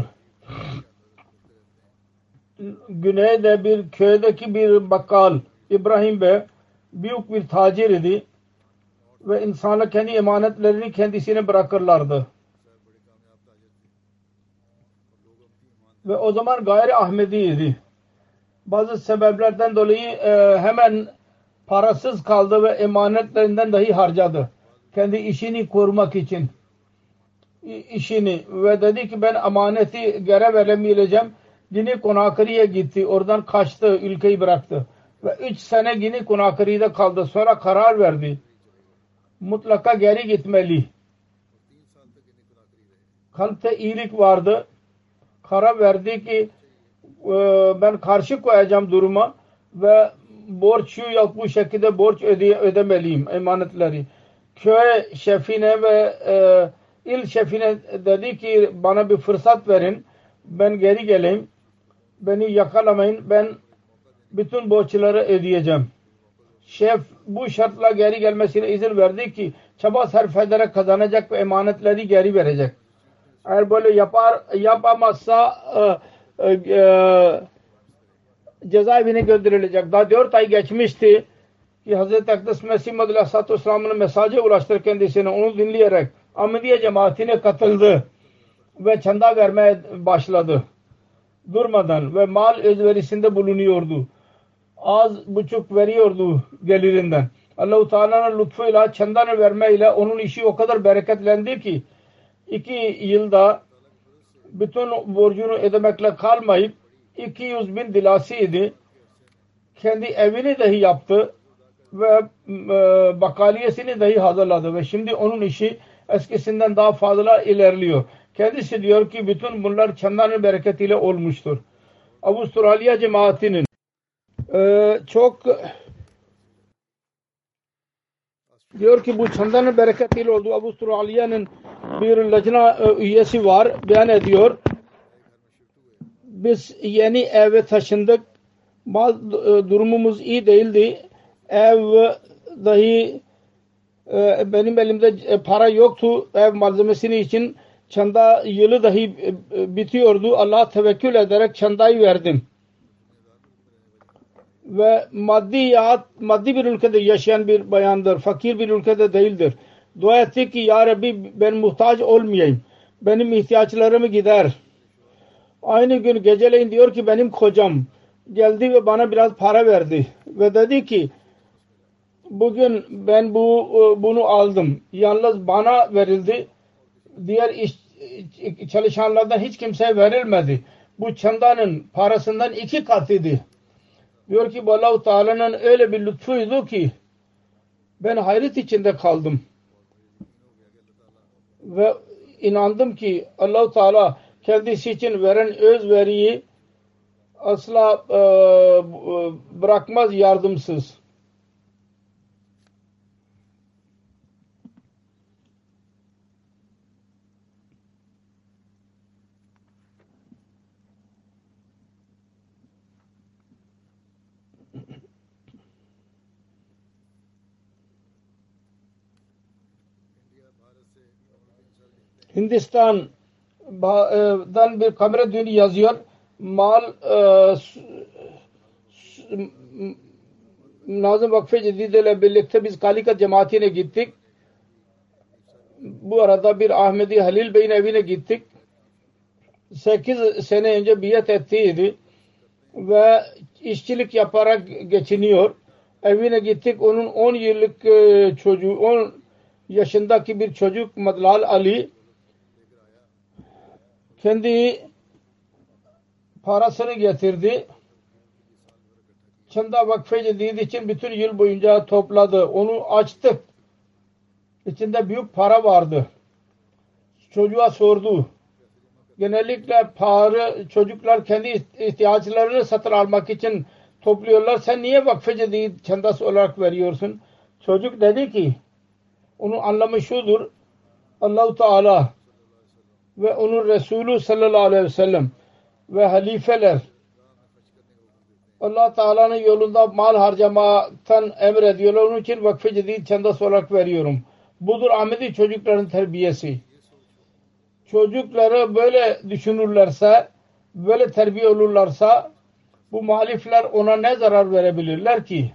Güneyde bir köydeki bir bakkal İbrahim Bey büyük bir tacir idi ve insanlar kendi emanetlerini kendisine bırakırlardı. Ve o zaman gayri Ahmedi idi. Bazı sebeplerden dolayı e, hemen parasız kaldı ve emanetlerinden dahi harcadı. Kendi işini korumak için. işini ve dedi ki ben emaneti geri veremeyeceğim. Gini Konakri'ye gitti. Oradan kaçtı. Ülkeyi bıraktı. Ve üç sene Gini Konakri'de kaldı. Sonra karar verdi. Mutlaka geri gitmeli. Kalpte iyilik vardı. Karar verdi ki ben karşı koyacağım duruma ve borç şu ya bu şekilde borç öde ödemeliyim emanetleri. Köy şefine ve e, il şefine dedi ki bana bir fırsat verin. Ben geri geleyim. Beni yakalamayın. Ben bütün borçları ödeyeceğim. Şef bu şartla geri gelmesine izin verdi ki çaba sarf ederek kazanacak ve emanetleri geri verecek. Eğer böyle yapar yapamazsa e, e, e, cezaevine gönderilecek. Daha dört ay geçmişti ki Hazreti Akdes Mesih Madhu Aleyhisselatü Vesselam'ın mesajı ulaştır kendisine. Onu dinleyerek Ahmediye cemaatine katıldı ve çanda vermeye başladı. Durmadan ve mal özverisinde bulunuyordu. Az buçuk veriyordu gelirinden. Allah-u Teala'nın lütfuyla çandanı vermeyle onun işi o kadar bereketlendi ki iki yılda bütün borcunu ödemekle kalmayıp iki yüz bin dilasıydı. Kendi evini dahi yaptı ve e, bakaliyesini dahi hazırladı ve şimdi onun işi eskisinden daha fazla ilerliyor. Kendisi diyor ki bütün bunlar çandanın bereketiyle olmuştur. Avustralya cemaatinin e, çok diyor ki bu çandanın bereketiyle oldu. Avustralya'nın bir lacna e, üyesi var. Beyan ediyor. Biz yeni eve taşındık. Mal e, durumumuz iyi değildi. Ev dahi e, benim elimde e, para yoktu. Ev malzemesini için çanda yılı dahi e, bitiyordu. Allah'a tevekkül ederek çandayı verdim. Ve maddi, maddi bir ülkede yaşayan bir bayandır. Fakir bir ülkede değildir. Dua etti ki ya Rabbi ben muhtaç olmayayım. Benim ihtiyaçlarımı gider. Aynı gün geceleyin diyor ki benim kocam geldi ve bana biraz para verdi. Ve dedi ki bugün ben bu bunu aldım. Yalnız bana verildi. Diğer iş, çalışanlardan hiç kimseye verilmedi. Bu çandanın parasından iki katıydı. Diyor ki Allah-u Teala'nın öyle bir lütfuydu ki ben hayret içinde kaldım. Ve inandım ki Allah-u Teala kendisi için veren özveriyi asla e, bırakmaz yardımsız. Hindistan'dan bir Kameradün yazıyor. Mal e, Nazım Vakfı Cedide ile birlikte biz Kalikat cemaatine gittik. Bu arada bir Ahmedi Halil Bey'in evine gittik. sekiz sene önce biat ettiydi ve işçilik yaparak geçiniyor. Evine gittik. Onun on yıllık çocuğu, on yaşındaki bir çocuk Madlal Ali kendi parasını getirdi. Çanda Vakfı Cedid için bütün yıl boyunca topladı. Onu açtık. İçinde büyük para vardı. Çocuğa sordu. Genellikle para çocuklar kendi ihtiyaçlarını satın almak için topluyorlar. Sen niye Vakfı Cedid çandası olarak veriyorsun? Çocuk dedi ki onun anlamı şudur. Allah-u Teala ve onun Resulü sallallahu aleyhi ve sellem ve halifeler Allah Teala'nın yolunda mal harcamaktan emrediyorlar. Onun için Vakfı Cedid çandası olarak veriyorum. Budur Ahmedi çocukların terbiyesi. Çocukları böyle düşünürlerse, böyle terbiye olurlarsa bu muhalifler ona ne zarar verebilirler ki?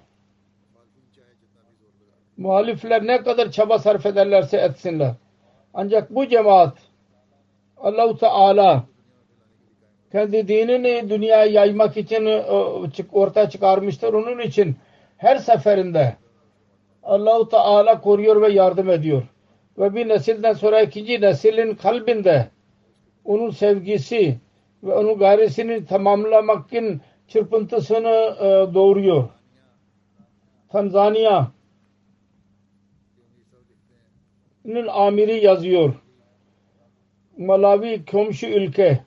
Muhalifler ne kadar çaba sarf ederlerse etsinler. Ancak bu cemaat Allah-u Teala kendi dinini dünyaya yaymak için ortaya çıkarmıştır. Onun için her seferinde Allah-u Teala koruyor ve yardım ediyor. Ve bir nesilden sonra ikinci neslin kalbinde onun sevgisi ve onun gayresini tamamlamak için çırpıntısını doğuruyor. Tanzanya'nın amiri yazıyor. Malawi komşu ülke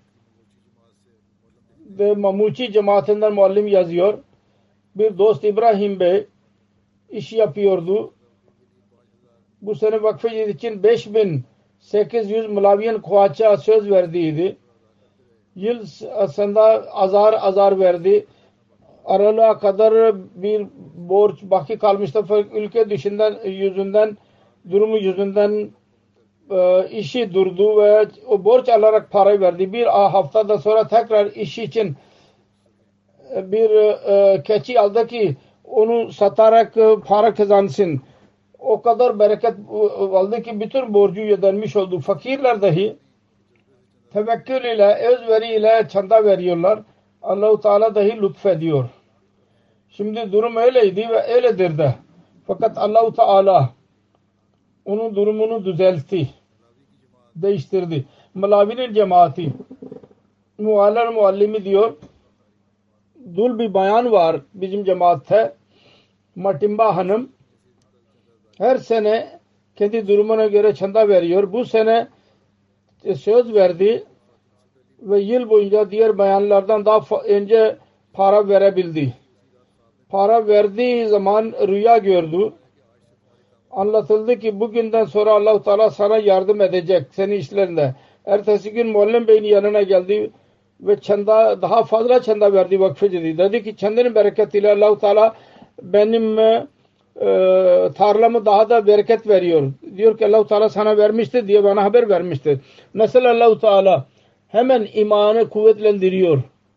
ve Mamuçi cemaatinden muallim yazıyor. Bir dost İbrahim Bey iş yapıyordu. Bu sene Vakfı Cedid için beş bin sekiz yüz Malawiyan Kuvaç'a söz verdiydi. Yıl aslında azar azar verdi. Aralığa kadar bir borç baki kalmıştı. Ülke dışından yüzünden durumu yüzünden e, işi durdu ve o borç alarak parayı verdi. Bir haftada sonra tekrar iş için bir e, keçi aldı ki onu satarak e, para kazansın. O kadar bereket aldı ki bütün borcu ödenmiş oldu. Fakirler dahi tevekkül ile, özveri ile çanda veriyorlar. Allah-u Teala dahi lütfediyor. Şimdi durum öyleydi ve öyledir de. Fakat Allah-u Teala onun durumunu düzeltti. Değiştirdi. Malawi'nin cemaati muallar muallimi diyor. Dul bir bayan var bizim cemaatte. Matimba Hanım. Her sene kendi durumuna göre çanda veriyor. Bu sene söz verdi ve yıl boyunca diğer bayanlardan daha önce para verebildi. Para verdiği zaman rüya gördü. Anlatıldı ki bugünden sonra Allah-u Teala sana yardım edecek senin işlerinde. Ertesi gün Muallim Bey'in yanına geldi ve çanda, daha fazla çanda verdi Vakfı Cedid. Dedi ki çandanın bereketiyle Allah-u Teala benim e, tarlamı daha da bereket veriyor. Diyor ki Allah-u Teala sana vermişti diye bana haber vermişti. Nasıl Allah-u Teala hemen imanı kuvvetlendiriyor.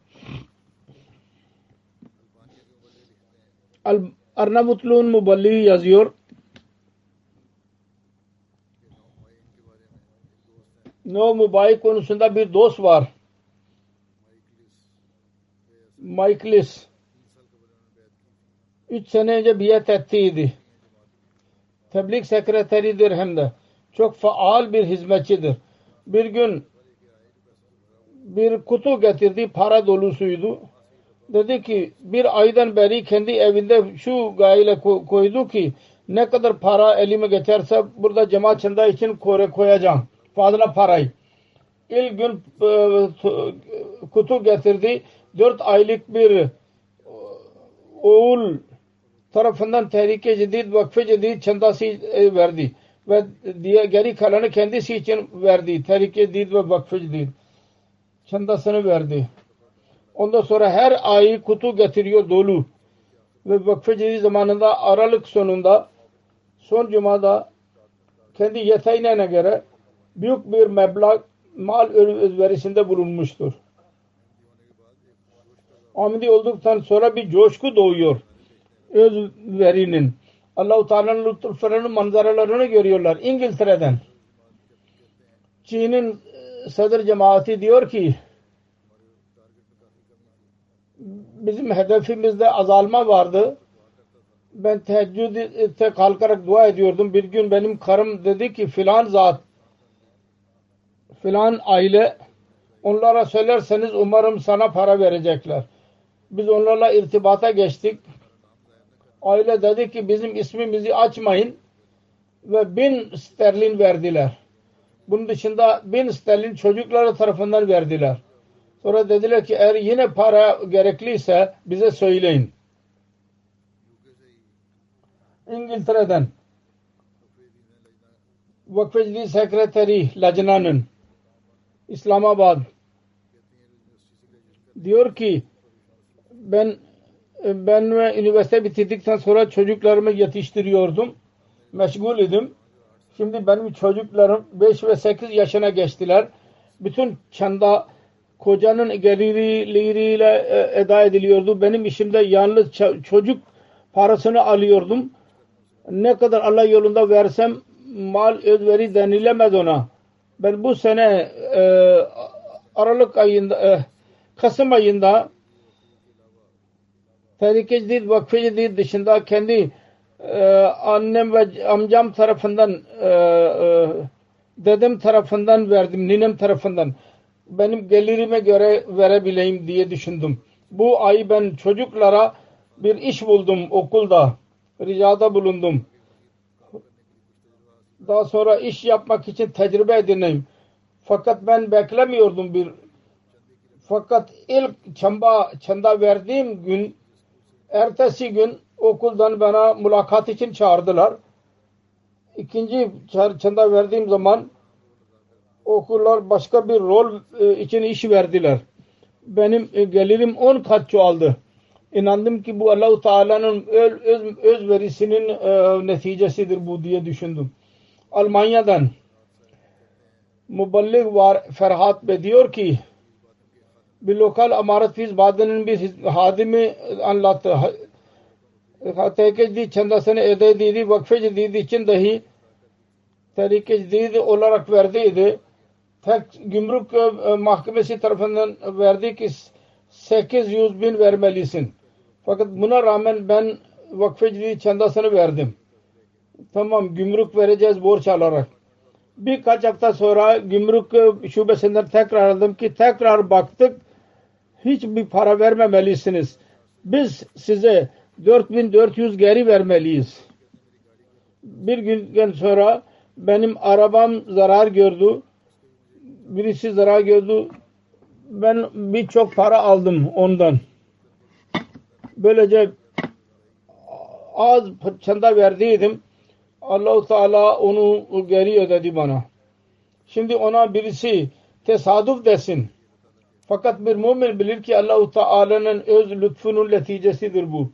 Arnavutlu'nun Muballighi yazıyor. No Mobile konusunda bir dost var. Michaelis. Üç sene önce biat ettiydi. Tebliğ sekreteridir hem de. Çok faal bir hizmetçidir. Bir gün bir kutu getirdi. Para dolusuydu. Dedi ki bir aydan beri kendi evinde şu gayle koydu ki ne kadar para elime geçerse burada cemaat çanda için koyacağım. Fazla parayı. İlk gün e, kutu getirdi. Dört aylık bir oğul tarafından Tehrik-i Cedid, Vakfı Cedid çandası verdi. Ve diye geri kalanı kendisi için verdi. Tehrik-i Cedid ve Vakfı Cedid çandasını verdi. Ondan sonra her ay kutu getiriyor dolu. Ve Vakfı Cedid zamanında Aralık sonunda son cumada kendi yeteneğine göre büyük bir meblağ mal özverisinde bulunmuştur. Ahmedi olduktan sonra bir coşku doğuyor özverinin. Allah-u Teala'nın lütuflarının manzaralarını görüyorlar. İngiltere'den Çin'in sadr cemaati diyor ki bizim hedefimizde azalma vardı. Ben teheccüde kalkarak dua ediyordum. Bir gün benim karım dedi ki filan zat, filan aile, onlara söylerseniz umarım sana para verecekler. Biz onlarla irtibata geçtik. Aile dedi ki bizim ismimizi açmayın ve bin sterlin verdiler. Bunun dışında bin sterlin çocukları tarafından verdiler. Sonra dediler ki eğer yine para gerekliyse bize söyleyin. İngiltere'den Vakfı Sekreteri Lajna'nın İslamabad diyor ki ben ben ve üniversite bitirdikten sonra çocuklarımı yetiştiriyordum. Meşgul idim. Şimdi benim çocuklarım beş ve sekiz yaşına geçtiler. Bütün çanda kocanın gelirleriyle eda ediliyordu. Benim işimde yalnız çocuk parasını alıyordum. Ne kadar Allah yolunda versem mal özveri denilemez ona. Ben bu sene e, Aralık ayında e, Kasım ayında Tehrik-i Cedid, Vakfı Cedid dışında kendi e, annem ve amcam tarafından e, e, dedem tarafından verdim, ninem tarafından. Benim gelirime göre verebileyim diye düşündüm. Bu ay ben çocuklara bir iş buldum okulda. Ricada bulundum. Daha sonra iş yapmak için tecrübe edineyim. Fakat ben beklemiyordum bir. Fakat ilk çamba, çanda verdiğim gün, ertesi gün okuldan bana mülakat için çağırdılar. İkinci çanda verdiğim zaman okullar başka bir rol için iş verdiler. Benim gelirim on kat çoğaldı. İnandım ki bu Allah-u Teala'nın öz, öz, özverisinin e, neticesidir bu diye düşündüm. Almanya'dan muballig var Ferhat Bey diyor ki bir lokal amaret fiz badenin bir hadimi anlattı. Tehrik-i Cedid çandasını eda edildi. Vakfı Cedid için dahi Tehrik-i Cedid olarak verdiydi. Tek gümrük mahkemesi tarafından verdi ki sekiz yüz bin vermelisin. Fakat buna rağmen ben Vakfı Cedid çandasını verdim. Tamam, gümrük vereceğiz borç alarak. Birkaç hafta sonra gümrük şubesinden tekrar aldım ki tekrar baktık hiçbir para vermemelisiniz. Biz size dört bin dört yüz geri vermeliyiz. Bir gün sonra benim arabam zarar gördü. Birisi zarar gördü. Ben birçok para aldım ondan. Böylece az çanda verdiydim. Allah-u Teala onu geri ödedi bana. Şimdi ona birisi tesadüf desin. Fakat bir mümin bilir ki Allah-u Teala'nın öz lütfunun neticesidir bu.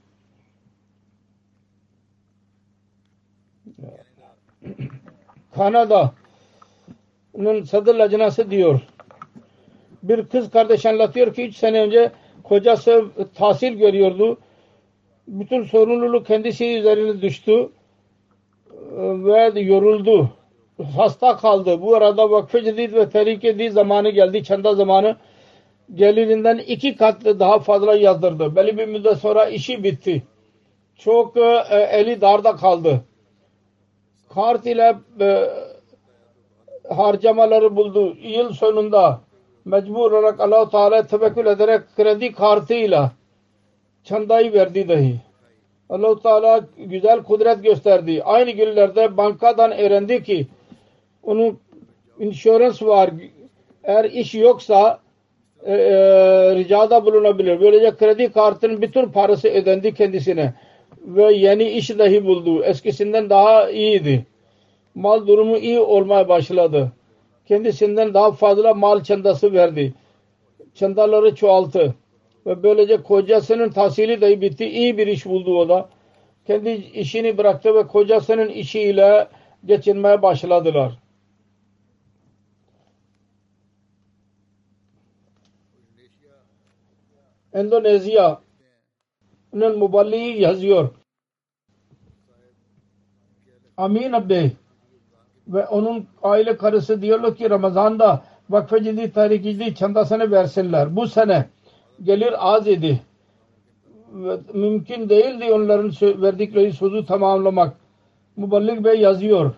Kanada'nın sadr lajnası diyor. Bir kız kardeş anlatıyor ki üç sene önce kocası tahsil görüyordu. Bütün sorumluluk kendisi üzerine düştü ve yoruldu. Hasta kaldı. Bu arada Vakfı Cedid ve Tehrik-i Cedid zamanı geldi. Çanda zamanı gelirinden iki kat daha fazla yazdırdı. Belli bir müddet sonra işi bitti. Çok e, eli darda kaldı. Kart ile e, harcamaları buldu. Yıl sonunda mecbur olarak Allah-u Teala'ya tevekkül ederek kredi kartıyla çandayı verdi dahi. Allah-u Teala güzel kudret gösterdi. Aynı günlerde bankadan öğrendi ki onun insurans var. Eğer iş yoksa e, e, ricada bulunabilir. Böylece kredi kartının bütün parası ödendi kendisine. Ve yeni iş dahi buldu. Eskisinden daha iyiydi. Mal durumu iyi olmaya başladı. Kendisinden daha fazla mal çandası verdi. Çandaları çoğalttı. Ve böylece kocasının tahsili dahi bitti. İyi bir iş buldu o da. Kendi işini bıraktı ve kocasının işiyle geçinmeye başladılar. Endonezya'nın muballiği yazıyor. Amin Abdi ve onun aile karısı diyorlar ki Ramazan'da Vakfe Ciddi Tarikî çandasını versinler. Bu sene gelir az idi. Ve mümkün değildi onların verdikleri sözü tamamlamak. Muballik Bey yazıyor.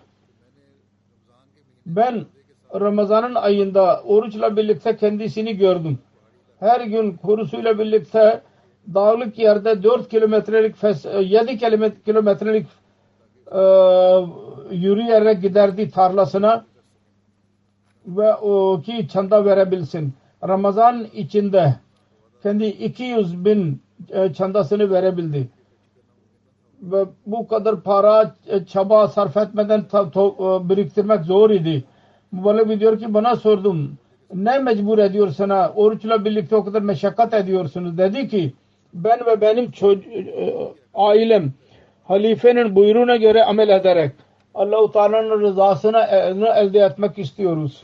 Ben Ramazan'ın ayında oruçla birlikte kendisini gördüm. Her gün kurusuyla birlikte dağlık yerde dört kilometrelik yedi kilometrelik e, yürüyerek giderdi tarlasına ve o ki çanda verebilsin. Ramazan içinde kendi iki yüz bin e, çandasını verebildi. Ve bu kadar para e, çaba sarf etmeden ta, to, e, biriktirmek zor idi. Mübarek diyor ki bana sordum. Ne mecbur ediyor sana? Oruçla birlikte o kadar meşakkat ediyorsunuz. Dedi ki ben ve benim e, ailem halifenin buyruğuna göre amel ederek Allah-u Teala'nın rızasını elde etmek istiyoruz.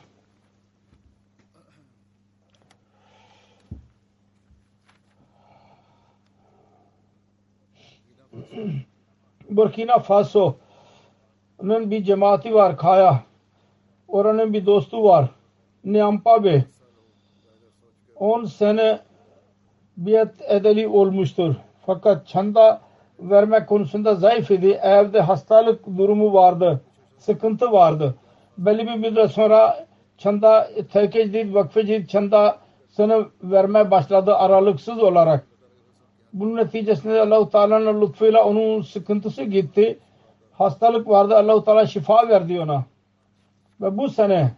Burkina Faso'nun bir cemaati var Kaya. Oranın bir dostu var. Niampa Bey. on sene biat edeli olmuştur. Fakat çanda vermek konusunda zayıf idi. Evde hastalık durumu vardı. Sıkıntı vardı. Belli bir müddet sonra çanda Tehkecdid Vakfecid çandasını vermeye başladı aralıksız olarak. Bunun neticesinde Allah-u Teala'nın lütfuyla onun sıkıntısı gitti. Hastalık vardı. Allah-u Teala şifa verdi ona. Ve bu sene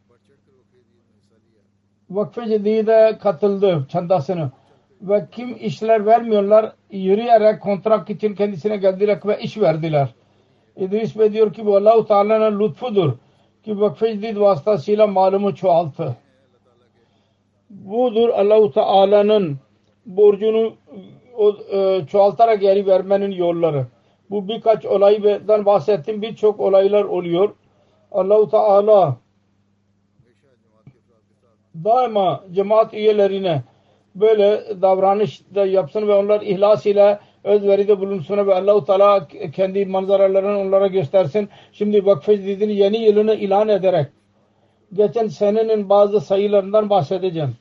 Vakfe Cedid'e katıldı çandasını. Ve kim işler vermiyorlar yürüyerek kontrak için kendisine geldiler ve iş verdiler. İdris Bey diyor ki bu Allah-u Teala'nın lütfudur ki Vakfe Cedid vasıtasıyla malumu çoğalttı. Budur Allah-u Teala'nın borcunu o, e, çoğaltarak geri vermenin yolları. Bu birkaç olaydan bahsettim. Birçok olaylar oluyor. Allah-u Teala daima cemaat üyelerine böyle davranış da yapsın ve onlar ihlas ile özveride bulunsun ve Allah-u Teala kendi manzaralarını onlara göstersin. Şimdi Vakfe Cedid'in yeni yılını ilan ederek geçen senenin bazı sayılarından bahsedeceğim.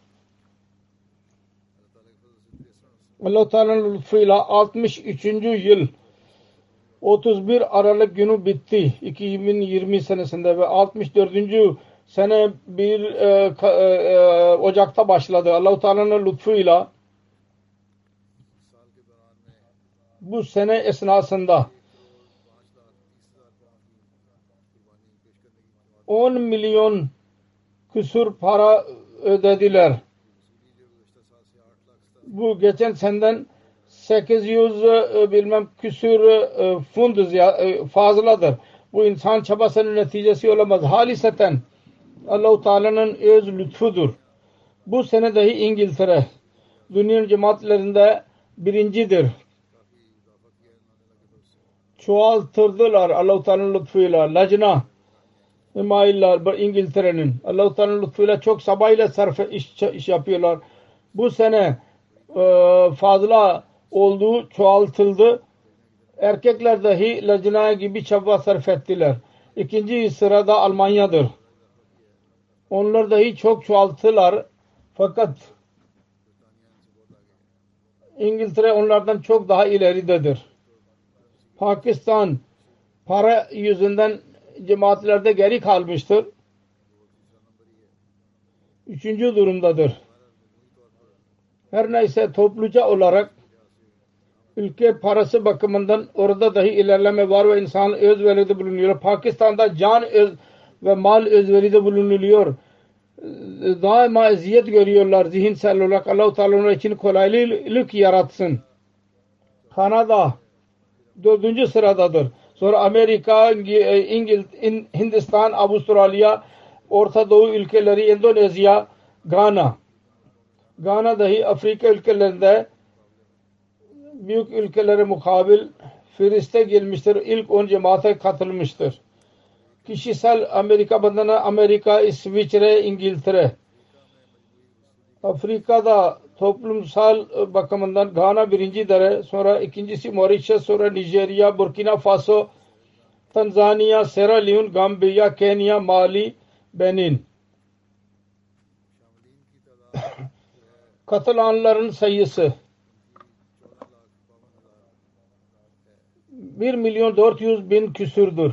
Allah-u Teala'nın lütfuyla altmış üçüncü yıl otuz bir Aralık günü bitti iki bin yirmi senesinde ve altmış dördüncü sene bir e, e, Ocak'ta başladı. Allah-u Teala'nın lütfuyla bu sene esnasında on milyon küsur para ödediler. Bu geçen seneden sekiz yüz e, bilmem küsur e, fund e, fazladır. Bu insan çabasının neticesi olamaz. Haliseten Allah-u Teala'nın öz lütfudur. Bu sene dahi İngiltere dünyanın cemaatlerinde birincidir. Çoğaltırdılar Allah-u Teala'nın lütfuyla. Lacna himayiller İngiltere'nin Allah-u Teala'nın lütfuyla çok sabayla sarf iş, iş yapıyorlar. Bu sene e, fazla oldu, çoğaltıldı. Erkekler dahi lacna gibi çaba sarf ettiler. İkinci sırada Almanya'dır. Onlar dahi çok çoğalttılar. Fakat İngiltere onlardan çok daha ileridedir. Pakistan para yüzünden cemaatlerde geri kalmıştır. Üçüncü durumdadır. Her neyse topluca olarak ülke parası bakımından orada dahi ilerleme var ve insan özveride bulunuyor. Pakistan'da can öz ve mal özveride bulunuyor. Daima eziyet görüyorlar zihinsel olarak. Allah-u Teala için kolaylık yaratsın. Kanada dördüncü sıradadır. Sonra Amerika, İngiliz, Hindistan, Avustralya, Orta Doğu ülkeleri, Endonezya, Gana. Gana dahi Afrika ülkelerinde büyük ülkelere mukabil Firiste gelmiştir. İlk on cemaate katılmıştır. Kişisel Amerika bandına Amerika, İsviçre, İngiltere. Afrika'da toplumsal bakımından Ghana birinci derece, sonra ikincisi Mauritius, sonra Nijerya, Burkina Faso, Tanzanya, Sierra Leone, Gambia, Kenya, Mali, Benin. Katılanların sayısı bir milyon dört yüz bin küsürdür.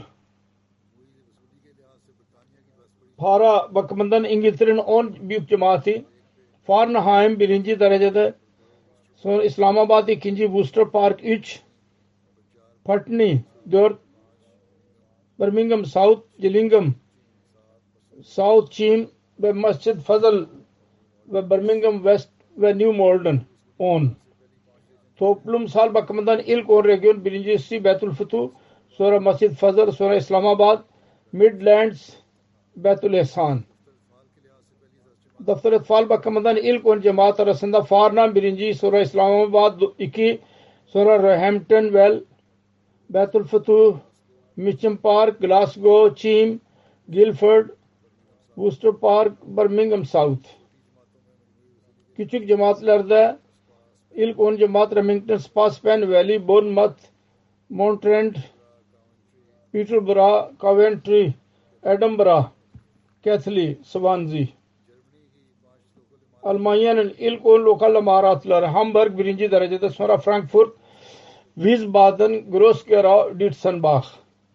Para bakımından İngiltere'nin on büyük cemaati, Farnham birinci derecede, sonra İslamabad ikinci, Worcester Park üç, Putney dört, Birmingham South, Gillingham, South Cheam ve Masjid Fazıl ve Birmingham West ve New Malden on. Toplumsal bakımından ilk on region, birincisi Beytul Futuh, sonra Masjid Fazıl, sonra İslamabad, Midlands, Beytul Ehsan. Daftar etfal bakımından ilk on cemaat arasında Farnham birinci, sonra İslamabad iki, sonra Roehampton Well, Beytul Futuh, Mitcham Park, Glasgow, Cheam, Guildford, Worcester Park, Birmingham South. Küçük cemaatlerde ilk on cemaat Remington, Spa, Spen Valley, Bournemouth, Monttrent, Peterborough, Coventry, Edinburgh, Keighley, Swansea. Almanya'nın ilk on lokal imaratları Hamburg birinci derecede, sonra Frankfurt, Wiesbaden, Groß-Gerau, Dietzenbach.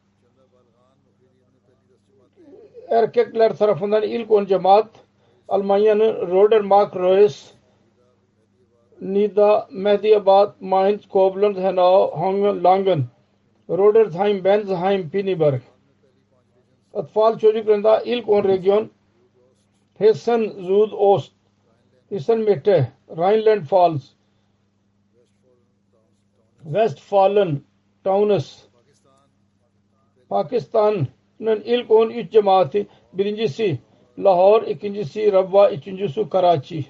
Erkekler tarafından ilk on cemaat Almanya'nın Rodermark, Reus, Nida, Mehdiabad, Mainz, Koblenz, Hanau, Langen, Rodersheim, Bensheim, Pinneberg. Atfal çocuklarında ilk on region Hessen, Südost, Hessen Mitte, Rheinland-Pfalz, Westfalen, Taunus. Pakistan'ın ilk on üç cemaati, birincisi Lahore, ikincisi Rabwa, üçüncüsü Karachi.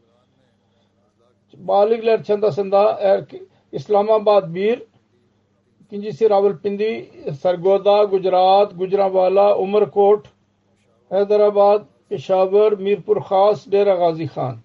Baligler çandasında İslamabad bir, ikincisi Rawalpindi, Sargoda, Gujarat, Gujranwala, Umarkot, Hyderabad, Peshawar, Mirpur Khas, Dera Ghazi Khan.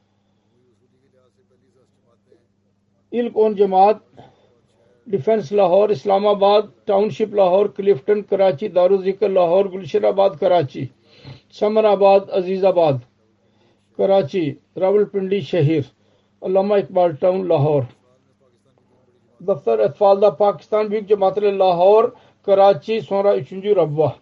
İlk on cemaat Defense Lahore, Islamabad, Township Lahore, Clifton, Karachi, Daruzikr Lahore, Gulshanabad, Karachi, Samarabad, Azizabad, Karachi, Rawalpindi Shahir, Allama Iqbal Town, Lahore. Daftar Etfal'da Pakistan büyük cemaatleri Lahore, Karachi, sonra üçüncü Rabwa.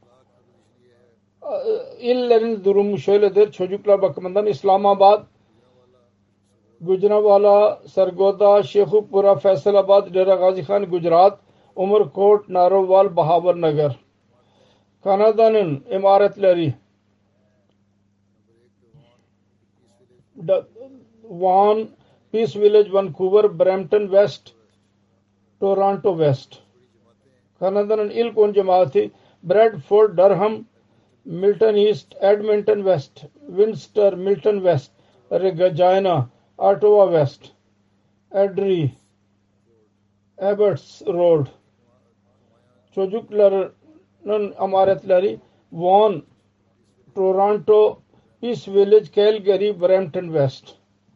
İllerin durumu şöyledir. Çocuklar bakımından İslamabad, Gujranwala, Sargoda, Shekhupura, Faisalabad, Dera Ghazi Khan, Gujarat, Umarkot, Narowal, Bahawar Nagar. Kanada'nın imaretleri Vaughan, Peace Village, Vancouver, Brampton West, Toronto West. Kanada'nın ilk on cemaati Bradford, Durham, Milton East, Edmonton West, Windsor, Milton West, Regina, Ottawa West, Edry, Abbots Road. Çocukların amaretleri Vaughan, Toronto, Peace Village, Calgary, Brampton West.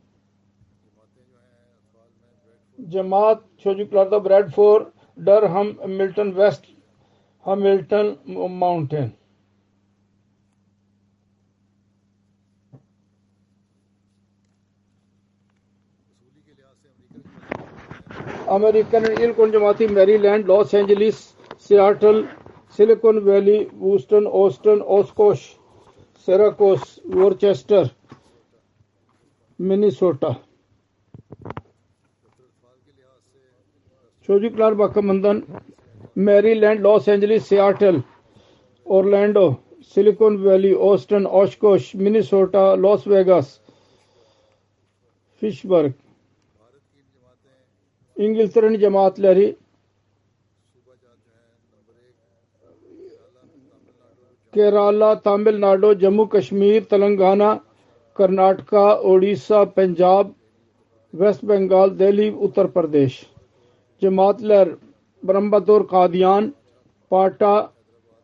Cemaat çocuklarda Bradford, Durham, Milton West, Hamilton Mountain. Amerika'nın ilk on cemaati Maryland, Los Angeles, Seattle, Silicon Valley, Houston, Austin, Oshkosh, Syracuse, Worcester, Minnesota. Çocuklar bakımından Maryland, Los Angeles, Seattle, Orlando, Silicon Valley, Austin, Oshkosh, Minnesota, Las Vegas, Fitchburg. İngiltere'nin cemaatleri Kerala, Tamil Nadu, Jammu Kashmir, Telangana, Karnataka, Odisha, Punjab, West Bengal, Delhi, Uttar Pradesh. Cemaatler Brahmbatur, Qadian, Pata,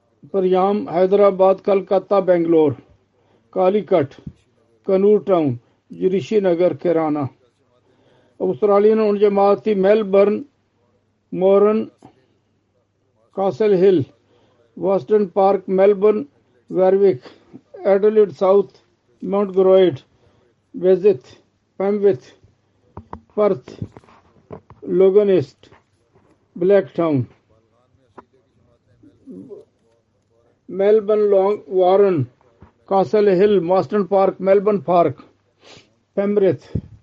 Paryam, Hyderabad, Kolkata, Bangalore, Calicut, Kannur Town, रिशी नगर केराना। ऑस्ट्रेलियन उन जमाती मेलबर्न, मोरन, कासल हिल, western park, Melbourne, वेरविक, Adelaide south, mount ग्रोइड, वेजिथ, पेमविथ, पर्थ, लोगन east, black town, Melbourne, long वारन, कासल हिल, मॉस्टन park, Melbourne park, पेमब्रिथ,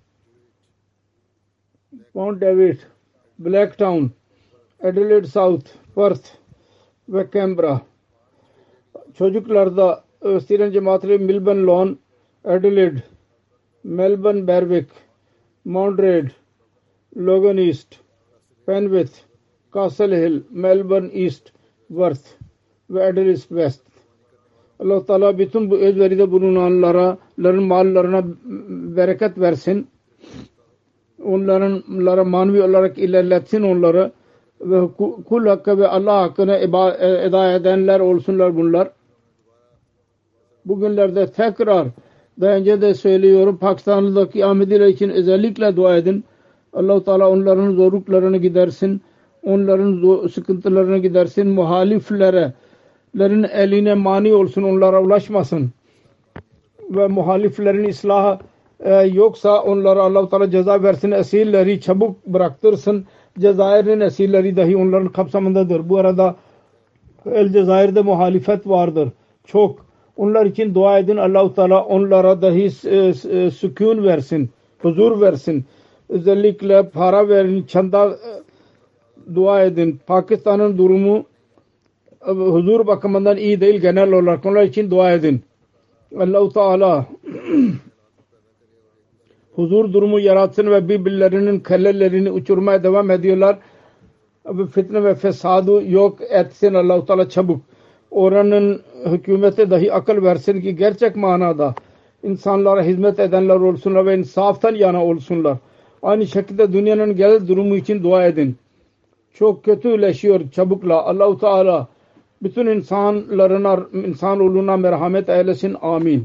mount David, black town, Adelaide south, Perth व कैम्ब्रा। çocuklarda Hristiyan cemaatleri Milburn Lawn, Adelaide, Melbourne Berwick, Mount Reid, Logan East, Penwith, Castle Hill, Melbourne East, Worth ve Adelaide West. Allah Teala bütün bu özveride bulunanlara, ların mallarına bereket versin. Onların manevi olarak ilerletsin onları ve kul hakkı ve Allah hakkını eda edenler olsunlar bunlar. Bugünlerde tekrar daha önce de söylüyorum, Pakistan'daki Ahmediler için özellikle dua edin. Allah-u Teala onların zorluklarını gidersin, onların sıkıntılarını gidersin, muhaliflere lerin eline mani olsun, onlara ulaşmasın ve muhaliflerin ıslahı e, yoksa onlara Allah-u Teala ceza versin, esirleri çabuk bıraktırsın. Cezayir'in esirleri dahi onların kapsamındadır. Bu arada El Cezayir'de muhalifet vardır çok. Onlar için dua edin, Allah-u Teala onlara dahi e, sükun versin, huzur versin. Özellikle para verin, çanda e, dua edin. Pakistan'ın durumu e, huzur bakımından iyi değil genel olarak. Onlar için dua edin. Allah-u Teala huzur durumu yaratsın ve birbirlerinin kellelerini uçurmaya devam ediyorlar. Fitne ve fesadı yok etsin Allah-u Teala çabuk. Oranın hükümete dahi akıl versin ki gerçek manada insanlara hizmet edenler olsunlar ve insaftan yana olsunlar. Aynı şekilde dünyanın genel durumu için dua edin. Çok kötüleşiyor çabukla. Allah-u Teala bütün insanlarına, insanoğluna merhamet eylesin. Amin.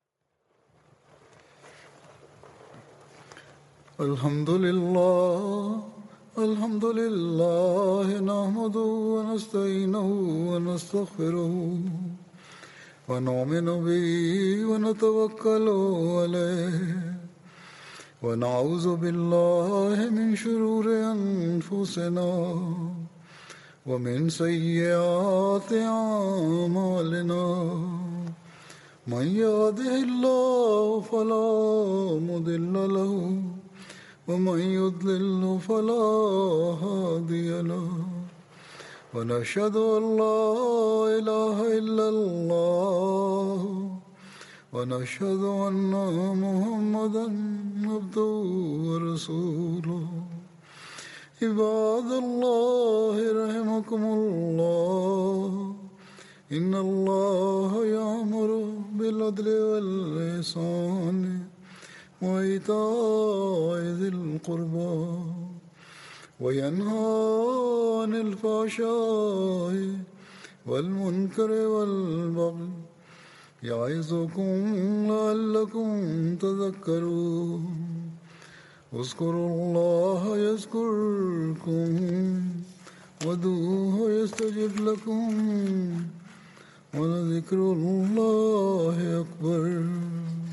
Elhamdülillah, elhamdülillah, nahmaduhu ve nestainuhu ve nestağfiruhu ve nu'minu bihi ve netevekkalu aleyh ve na'uzu billahi min şururi enfusina ve min seyyiati a'malina. Men yahdihillahu fela mudilla lehu ومن يضلل فلا هادي له ونشهد أن لا إله إلا الله ونشهد أن محمدا عبده ورسوله عباد الله رحمكم الله إن الله يأمر بالعدل والإحسان وإيتاء ذي القربى وينهى عن الفحشاء والمنكر والبغي يعظكم لعلكم تذكرون اذكروا الله يذكركم وادعوه يستجب لكم ولذكر الله أكبر.